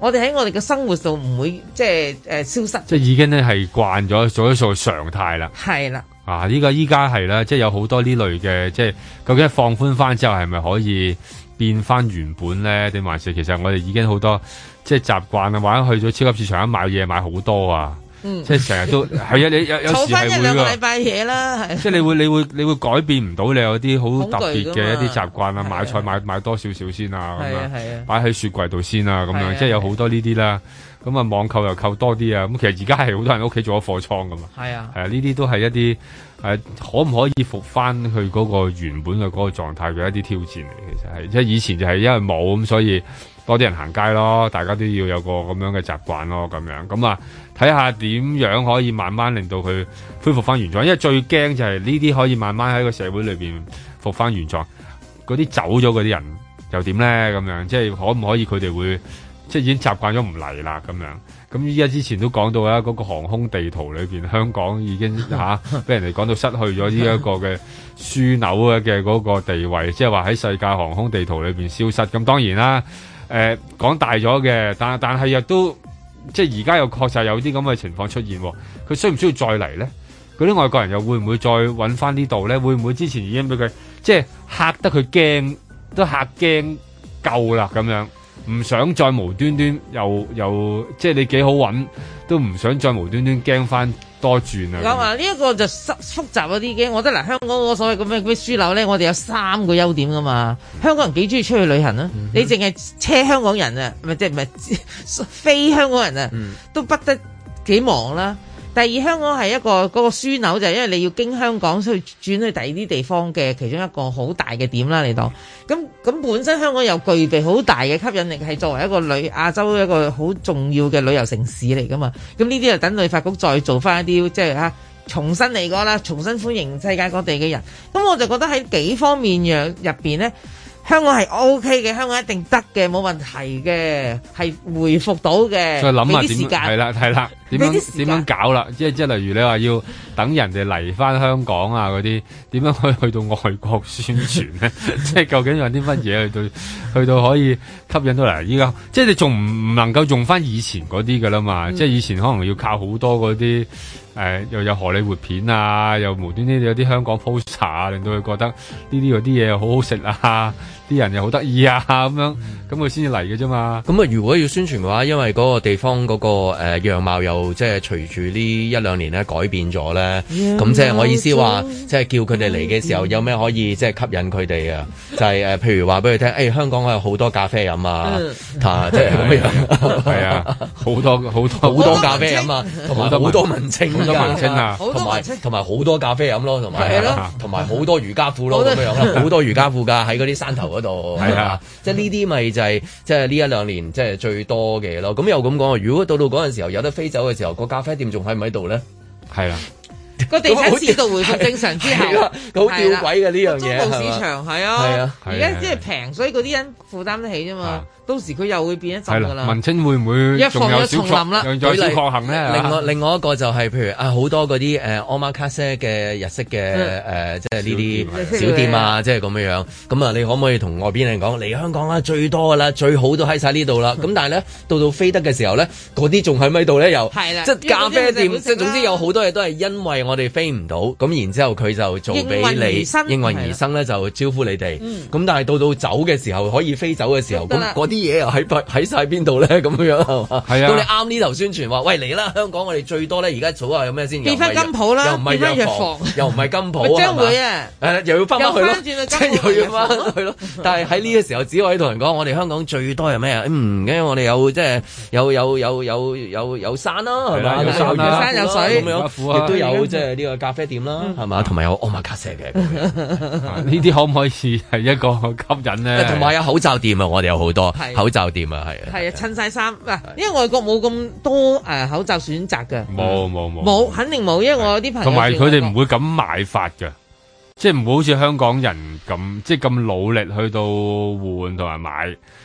我哋喺我哋嘅生活度唔會即係消失。 即係已經咧係慣咗做一數常態啦。 係啦。 啊！依家係啦，即係有好多呢類嘅，即係究竟放寬翻之後係咪可以變翻原本咧？定還是其實我哋已經好多即係習慣啊，或者去咗超級市場一買嘢買好多啊，即係成日都係啊！你有時係會㗎。儲翻一兩個禮拜嘢啦，係。即係你會改變唔到你有啲好特別嘅一啲習慣啊，買菜買多少少先啊，咁樣擺喺雪櫃度先啊，咁樣即係有好多呢啲啦。咁啊，網購又購多啲啊！咁其實而家係好多人屋企做咗貨倉噶嘛。係啊，係啊，呢啲都係一啲可唔可以復翻去嗰個原本嘅嗰個狀態嘅一啲挑戰嚟。其實係即係以前就係因為冇咁，所以多啲人行街咯，大家都要有個咁樣嘅習慣咯，咁樣咁啊，睇下點樣可以慢慢令到佢恢復翻原狀。因為最驚就係呢啲可以慢慢喺個社會裏邊復翻原狀，嗰啲走咗嗰啲人又點咧？咁樣即係可唔可以佢哋會？即係已經習慣咗唔嚟啦，咁樣咁依家之前都講到啦，嗰個航空地圖裏邊，香港已經俾人哋講到失去咗呢一個嘅樞紐嘅嗰個地位，即係話喺世界航空地圖裏邊消失。咁當然啦，講大咗嘅，但係亦都即係而家又確實有啲咁嘅情況出現，佢需唔需要再嚟咧？嗰啲外國人又會唔會再揾翻呢度咧？會唔會之前已經俾佢即係嚇得佢驚，都嚇驚夠啦咁樣？唔想再無端端又即係你幾好揾，都唔想再無端端驚翻多轉啊！ 咁啊，呢一個就複雜嗰啲嘅，我覺得嗱，香港嗰個所謂咁嘅樞紐咧，我哋有3個優點噶嘛。香港人幾中意出去旅行啊？你淨係車香港人啊，唔係非香港人啊，都不得幾忙啦。第二，香港係一個嗰個樞紐，就係因為你要經香港去轉去第二啲地方嘅其中一個好大嘅點啦。你當咁本身香港又具備好大嘅吸引力，係作為一個亞洲一個好重要嘅旅遊城市嚟噶嘛。咁呢啲就等旅發局再做翻一啲即係重新嚟過啦，重新歡迎世界各地嘅人。咁我就覺得喺幾方面入邊咧。香港係 OK 嘅，香港一定得嘅，冇問題嘅，係回復到嘅。再諗下點係啦，點樣搞啦？即係例如你話要等人哋嚟翻香港啊嗰啲，點樣可以去到外國宣傳咧？即係究竟有啲乜嘢去到可以吸引到嚟？依家即係你仲唔能夠用翻以前嗰啲噶啦嘛？即係以前可能要靠好多嗰啲又有荷里活片啊，又無端端有啲香港 poster 啊，令到佢覺得呢啲嗰啲嘢好好食啊，啲人又好得意啊咁樣，咁佢先至嚟嘅啫嘛。咁啊，如果要宣傳嘅話，因為嗰個地方嗰個樣貌又即係隨住呢1-2年咧改變咗咧，咁即係我意思話，即係叫佢哋嚟嘅時候有咩可以即係吸引佢哋啊？就係譬如話俾佢聽，香港有好多咖啡飲啊，即係咁樣，係啊，好多咖啡飲啊，同埋好多文青啊，同埋好多咖啡飲咯，同埋好多瑜伽褲咯，咁樣好多瑜伽褲㗎喺嗰啲山頭嗰度，係啊，即係呢啲咪就係即係呢1-2年即係最多嘅咯。咁又咁講，如果到嗰陣時候有得飛走嘅時候，個咖啡店仲喺唔喺度咧？係啦。個地產市道回復正常之後，好吊詭嘅呢樣嘢。中部市場係啊，而家即係平，所以嗰啲人負擔得起啫嘛。到時佢又會變一陣㗎啦。文青會唔會仲有小確幸咧？另外一個就係譬如好多嗰啲omakase嘅日式嘅即係呢啲小店啊，即係咁樣樣。咁啊，你可唔可以同外邊人講嚟香港啦？最多㗎啦，最好都喺晒呢度啦。咁但係咧，到飛得嘅時候咧，嗰啲仲喺咪度咧？又即係咖啡店，即係總之有好多嘢都係因為我哋飛唔到，咁然之後佢就做俾你應運而生咧，就招呼你哋。咁但係到走嘅時候，可以飛走嘅時候，咁嗰啲嘢又喺晒邊度咧？咁樣係嘛？係啊。到你啱呢頭宣傳話，喂嚟啦！香港我哋最多咧，而家數下有咩先？變翻金鋪啦，又唔係藥房，又唔係金鋪，將會啊！又要翻返去咯，即係又要翻去咯。但係喺呢個時候，只可以同人講，我哋香港最多係咩啊？因為我哋有即係有山啦，係嘛？有山有水咁樣，亦都有即係呢個咖啡店啦，係嘛？同埋有omakase嘅，呢啲可唔可以係一個吸引咧？同埋有口罩店啊！我哋有好多口罩店啊，係啊，襯晒衫嗱，因為外國冇咁多口罩選擇嘅，冇，肯定冇，因為我有啲朋友同埋佢哋唔會咁買法嘅，即係唔會好似香港人咁即係咁努力去到換同埋買。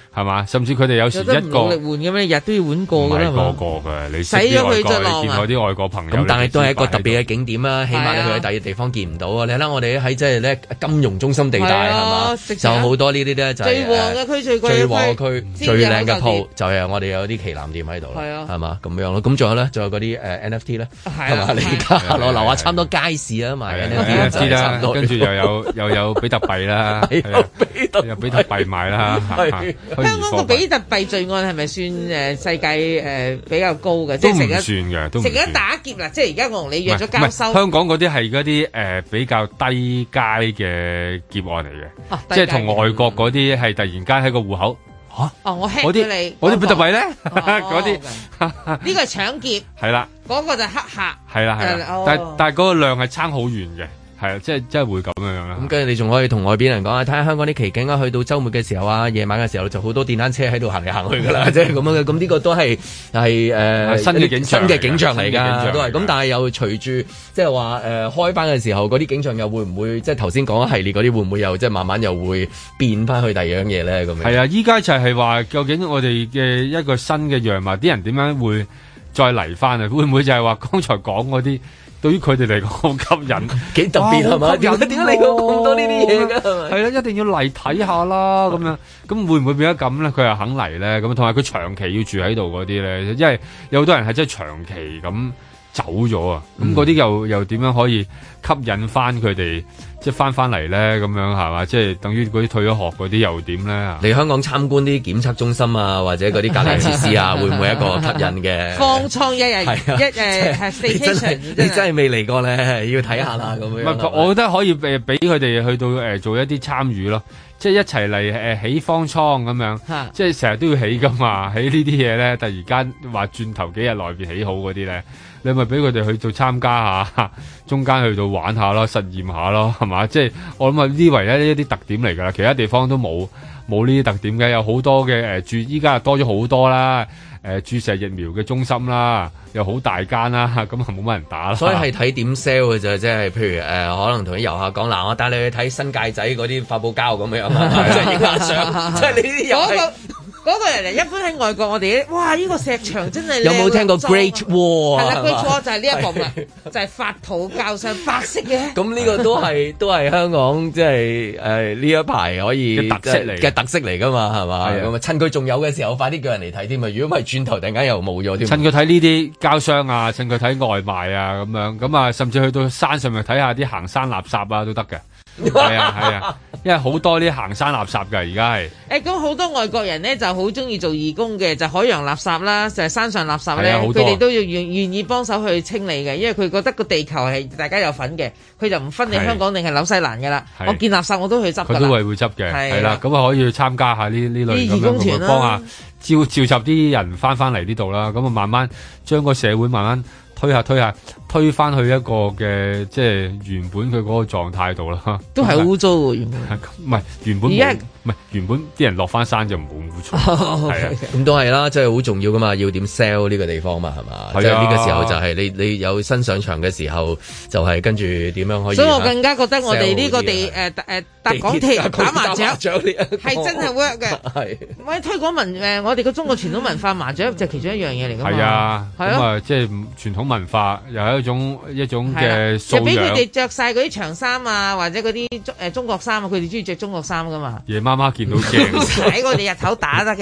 係嘛？甚至佢哋有時一個努力換嘅咩？日都要換過㗎啦， 唔係個個嘅，你洗咗佢就浪啊！ 見我啲外國朋友， 咁但係都係一個特別嘅景點啦，起碼你去喺第二地方見唔到啊！你睇下我哋喺即係咧金融中心地帶係嘛，就好多呢啲咧就係最旺嘅區、 最旺嘅區、最靚嘅鋪，就係我哋有啲旗艦店喺度啦，係嘛咁樣咯。咁仲有咧，仲有嗰啲NFT 咧，係嘛？你而家落樓下差唔多街市啊賣 NFT 啦，跟住又有比特幣啦，有比特幣賣啦。 香港個比特幣罪案係咪算世界比較高嘅？ 都唔算嘅，都唔算。成日打劫啦，即係而家我同你約咗交收。 香港嗰啲係嗰啲比較低階嘅劫案嚟嘅，即係同外國嗰啲係突然間喺個戶口嚇。 我 hack 咗你。 嗰啲比特幣咧，嗰啲呢個係搶劫。 係啦。 嗰個就係黑客。 係啦。但係嗰個量係差好遠嘅。係啊，即係會咁樣啦。 咁跟住你仲可以同外邊人講啊，睇下香港啲奇景啊，去到週末嘅時候啊，夜晚嘅時候就好多電單車喺度行嚟行去㗎啦，即係咁樣嘅。咁呢個都係新嘅景象嚟㗎，都係。咁但係又隨住即係話開翻嘅時候，嗰啲景象又會唔會即係頭先講一系列嗰啲會唔會又即係慢慢又會變翻去第二樣嘢咧？咁樣係啊，依家就係話究竟我哋嘅一個新嘅樣貌，啲人點樣會再嚟翻啊？會唔會就係話剛才講嗰啲？對於佢哋嚟講好吸引， 幾特別係嘛？點解你講咁多呢啲嘢㗎？ 係啦，一定要嚟睇下啦，咁樣咁會唔會變咗咁咧？佢又肯嚟咧？咁同埋佢長期要住喺度嗰啲咧，因為有好多人係真係長期咁走咗啊！咁嗰啲又點樣可以吸引翻佢哋？即係翻嚟咧，咁樣係嘛？即係等於嗰啲退咗學嗰啲又點咧？ 嚟香港參觀啲檢測中心啊，或者嗰啲隔離設施啊，會唔會一個吸引嘅？ 方艙一日你真係未嚟過咧，要睇下啦咁樣。 唔係，我覺得可以俾佢哋去到做一啲參與咯，即係一齊嚟起方艙咁樣，即係成日都要起噶嘛。起呢啲嘢咧，突然間話轉頭幾日內邊起好嗰啲咧。你咪俾佢哋去到參加下，中間去到玩下咯，實驗下咯，係嘛？即係我諗啊，呢為咧一啲特點嚟㗎啦，其他地方都冇呢啲特點嘅，有好多嘅依家多咗好多啦，注射疫苗嘅中心啦，又好大間啦，咁啊冇乜人打啦。 所以係睇點 sell 嘅啫，即係譬如可能同啲遊客講嗱，我帶你去睇新界仔嗰啲發泡膠咁樣，即係影下相，即係你啲遊嗰個人嚟，一般喺外國我哋哇！呢個石牆真係有冇聽過 Great Wall？ 係啦，Great Wall 就係呢一個啦，就係發泡膠上白色嘅。 咁呢個都係香港即係呢一排可以嘅特色嚟㗎嘛，係嘛？咁啊趁佢仲有嘅時候，快啲叫人嚟睇添啊！如果唔係轉頭突然間又冇咗添。 趁佢睇呢啲膠箱啊，趁佢睇外賣啊咁樣，咁啊甚至去到山上面睇下啲行山垃圾啊都得嘅。係啊，因為好多啲行山垃圾㗎，而家係。 咁好多外國人咧就好中意做義工嘅，就海洋垃圾啦，就係山上垃圾咧，佢哋都要願意幫手去清理嘅，因為佢覺得個地球係大家有份嘅，佢就唔分你香港定係紐西蘭㗎啦。我見垃圾我都去執㗎啦。 佢都係會執嘅，係啦，咁啊可以去參加下呢類咁樣咁啊，幫下召集啲人翻嚟呢度啦，咁啊慢慢將個社會慢慢推翻去一個嘅即係原本佢嗰個狀態度啦， 都係污糟喎原本。 唔係原本唔係原本啲人落翻山就唔好污糟，係啊， 咁都係啦，即係好重要噶嘛，要點 sell 呢個地方嘛，係嘛？即係呢個時候就係你有新上場嘅時候，就係跟住點樣可以。 所以我更加覺得我哋呢個搭港鐵打麻雀係真係 work 嘅，係。喂，推廣我哋嘅中國傳統文化麻雀就其中一樣嘢嚟㗎嘛。 係啊，咁啊即係傳統文化又係一種嘅素養。就俾佢哋着晒嗰啲長衫啊，或者嗰啲中國衫啊，佢哋中意着中國衫㗎嘛。 夜媽媽見到驚， 喺我哋日頭打得嘅。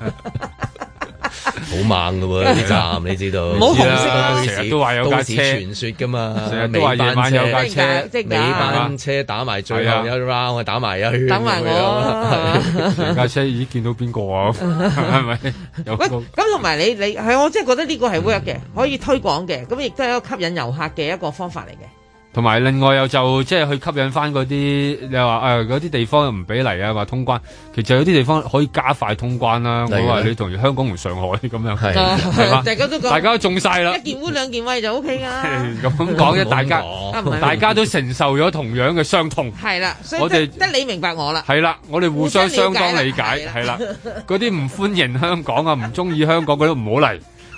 好猛㗎喎啲站，你知道？ 冇紅色啦， 成日都話有架車傳說㗎嘛， 成日都話夜晚有架車， 尾班車打埋最後一 round，我打埋一圈， 等埋我。 成架車已經見到邊個啊？係咪？ 喂，咁同埋你係我真係覺得呢個係 work 嘅，可以推廣嘅，咁亦都係一個吸引遊客嘅一個方法嚟嘅。 同埋另外又就即係去吸引翻嗰啲你話嗰啲地方又唔俾嚟啊，話通關，其實有啲地方可以加快通關啦。我話你同香港同上海咁樣係嘛？大家都中晒啦， 一件污兩件穢就 OK 㗎啦。 咁講啫，大家都承受咗同樣嘅傷痛。 係啦，所以我哋得你明白我啦。 係啦，我哋互相相當理解。係啦，嗰啲唔歡迎香港啊，唔中意香港嗰啲唔好嚟。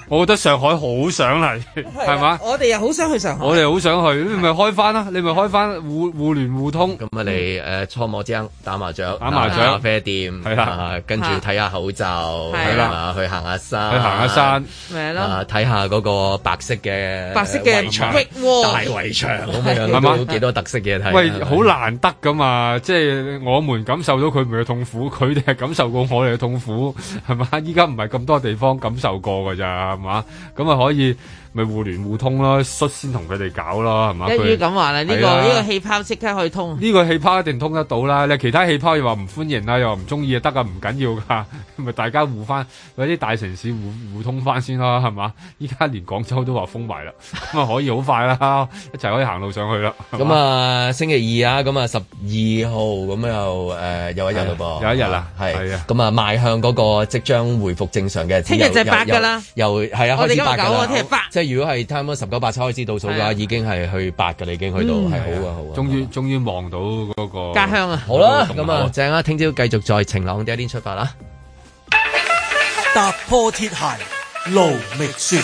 我覺得上海好想嚟，係嘛？ 我哋又好想去上海， 我哋好想去，你咪開翻啦，你咪開翻互聯互通。 咁你搓麻將、打麻雀、 咖啡店，係啦，跟住睇下口罩，係啦，去行下山， 咪啦， 睇下嗰個白色嘅圍牆，大圍牆咁樣， 係嘛？ 幾多特色嘢睇？ 喂，好難得噶嘛，即係我們感受到佢哋嘅痛苦，佢哋係感受過我哋嘅痛苦，係嘛？依家唔係咁多地方感受過㗎咋，係嘛？咁啊可以咪互聯互通咯，率先同佢哋搞咯，係嘛？ 一於咁話啦，呢個氣泡即刻可以通。呢個氣泡一定通得到啦。你其他氣泡又話唔歡迎啊，又話唔中意啊，得啊，唔緊要噶，咪大家互翻，嗰啲大城市互通翻先啦，係嘛？依家連廣州都話封埋啦，咁啊可以好快啦，一齊可以行路上去啦。 咁啊星期二啊，咁啊12號咁又有一日咯噃， 有一日啦， 係啊，咁啊邁向嗰個即將回復正常嘅， 聽日就係8㗎啦， 又係啊，開始8㗎啦， 聽日8， 即係如果係差唔多19、8開始倒數嘅話，已經係去8㗎啦，已經去到係好啊，好啊， 終於望到嗰個家鄉啊， 好啦，咁啊正啊，聽朝繼續在晴朗的一天出發啦， 踏破鐵鞋路未雪。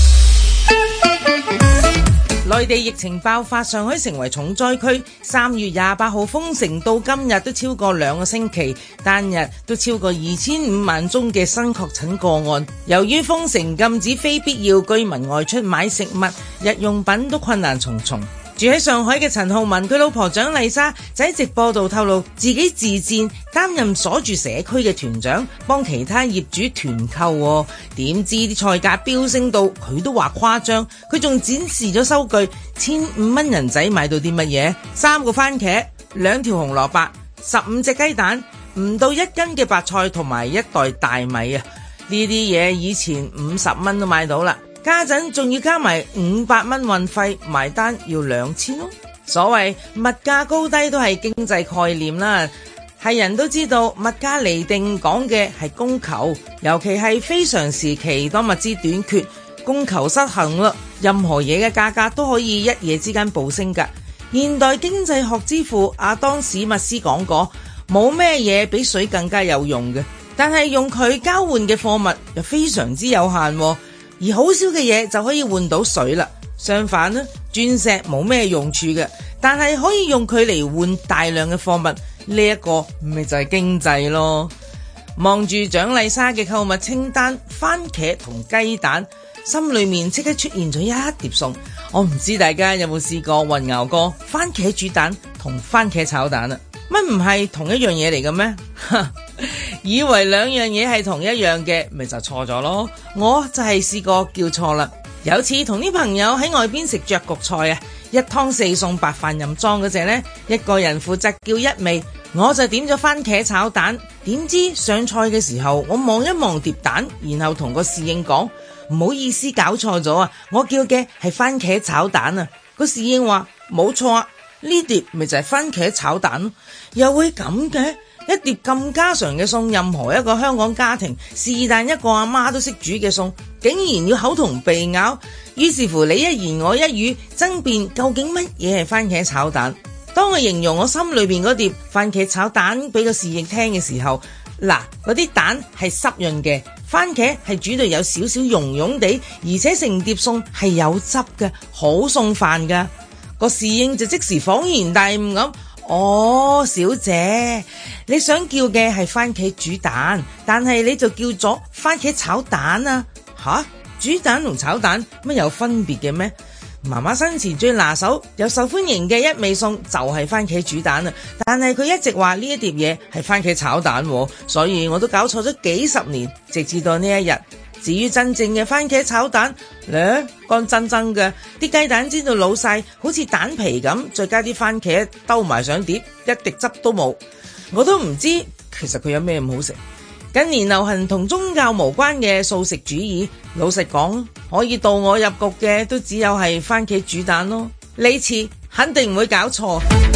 內地疫情爆發，上海成為重災區。3月28號封城到今日都超過2個星期，單日都超過25萬宗嘅新確診個案。由於封城禁止非必要居民外出買食物、日用品都困難重重。住喺上海嘅陳浩文，佢老婆蔣麗莎就喺直播度透露，自己自薦擔任鎖住社區嘅團長，幫其他業主團購。點知啲菜價飆升到佢都話誇張，佢仲展示咗收據，1,500蚊人仔買到啲乜嘢？3個番茄、2條紅蘿蔔、15隻雞蛋，唔到1斤嘅白菜同埋1袋大米啊！呢啲嘢以前50蚊都買到啦。家陣仲要加埋500蚊運費，埋單要2000咯。所謂物價高低都係經濟概念啦，係人都知道物價釐定講嘅係供求，尤其係非常時期當物資短缺，供求失衡啦，任何嘢嘅價格都可以一夜之間暴升㗎。現代經濟學之父亞當史密斯講過，冇咩嘢比水更加有用嘅，但係用佢交換嘅貨物又非常之有限喎。而好少嘅嘢就可以換到水啦。相反呢，鑽石冇咩用處嘅，但係可以用佢嚟換大量嘅貨物，呢一個咪就係經濟咯。望住蔣麗莎嘅購物清單，番茄同雞蛋，心裏面即刻出現咗一碟餸。我唔知大家有冇試過混淆過番茄煮蛋同番茄炒蛋啊？乜唔係同一樣嘢嚟嘅咩？以為2樣嘢係同一樣嘅，咪就錯咗咯。我就係試過叫錯啦。有次同啲朋友喺外邊食雀焗菜啊，1湯4餸白飯任裝嗰隻呢，一個人負責叫一味，我就點咗番茄炒蛋。點知上菜嘅時候，我望一望碟蛋，然後同個侍應講，唔好意思搞錯咗啊，我叫嘅係番茄炒蛋啊。個侍應話冇錯啊，呢碟咪就係番茄炒蛋咯。又會咁嘅？一碟咁家常嘅餸，任何一個香港家庭是但一個阿媽都識煮嘅餸，竟然要口同鼻拗。於是乎你一言我一語爭辯，究竟乜嘢係番茄炒蛋？當我形容我心裏邊嗰碟番茄炒蛋俾個侍應聽嘅時候，嗱，嗰啲蛋係濕潤嘅，番茄係煮到有少少溶溶地，而且成碟餸係有汁嘅，好餸飯噶。個侍應就即時恍然大悟咁。哦，小姐，你想叫嘅係番茄煮蛋，但係你就叫咗番茄炒蛋啊？吓，煮蛋同炒蛋乜有分別嘅咩？媽媽生前最拿手又受歡迎嘅一味餸就係番茄煮蛋啊，但係佢一直話呢一碟嘢係番茄炒蛋，所以我都搞錯咗幾十年，直至到呢一日。至於真正嘅番茄炒蛋咧，乾爭爭嘅，啲雞蛋煎到老晒，好似蛋皮咁，再加啲番茄兜埋上碟，一滴汁都冇。我都唔知其實佢有咩咁好食。近年流行同宗教無關嘅素食主義，老實講，可以導我入局嘅都只有係番茄煮蛋咯。呢次肯定唔會搞錯。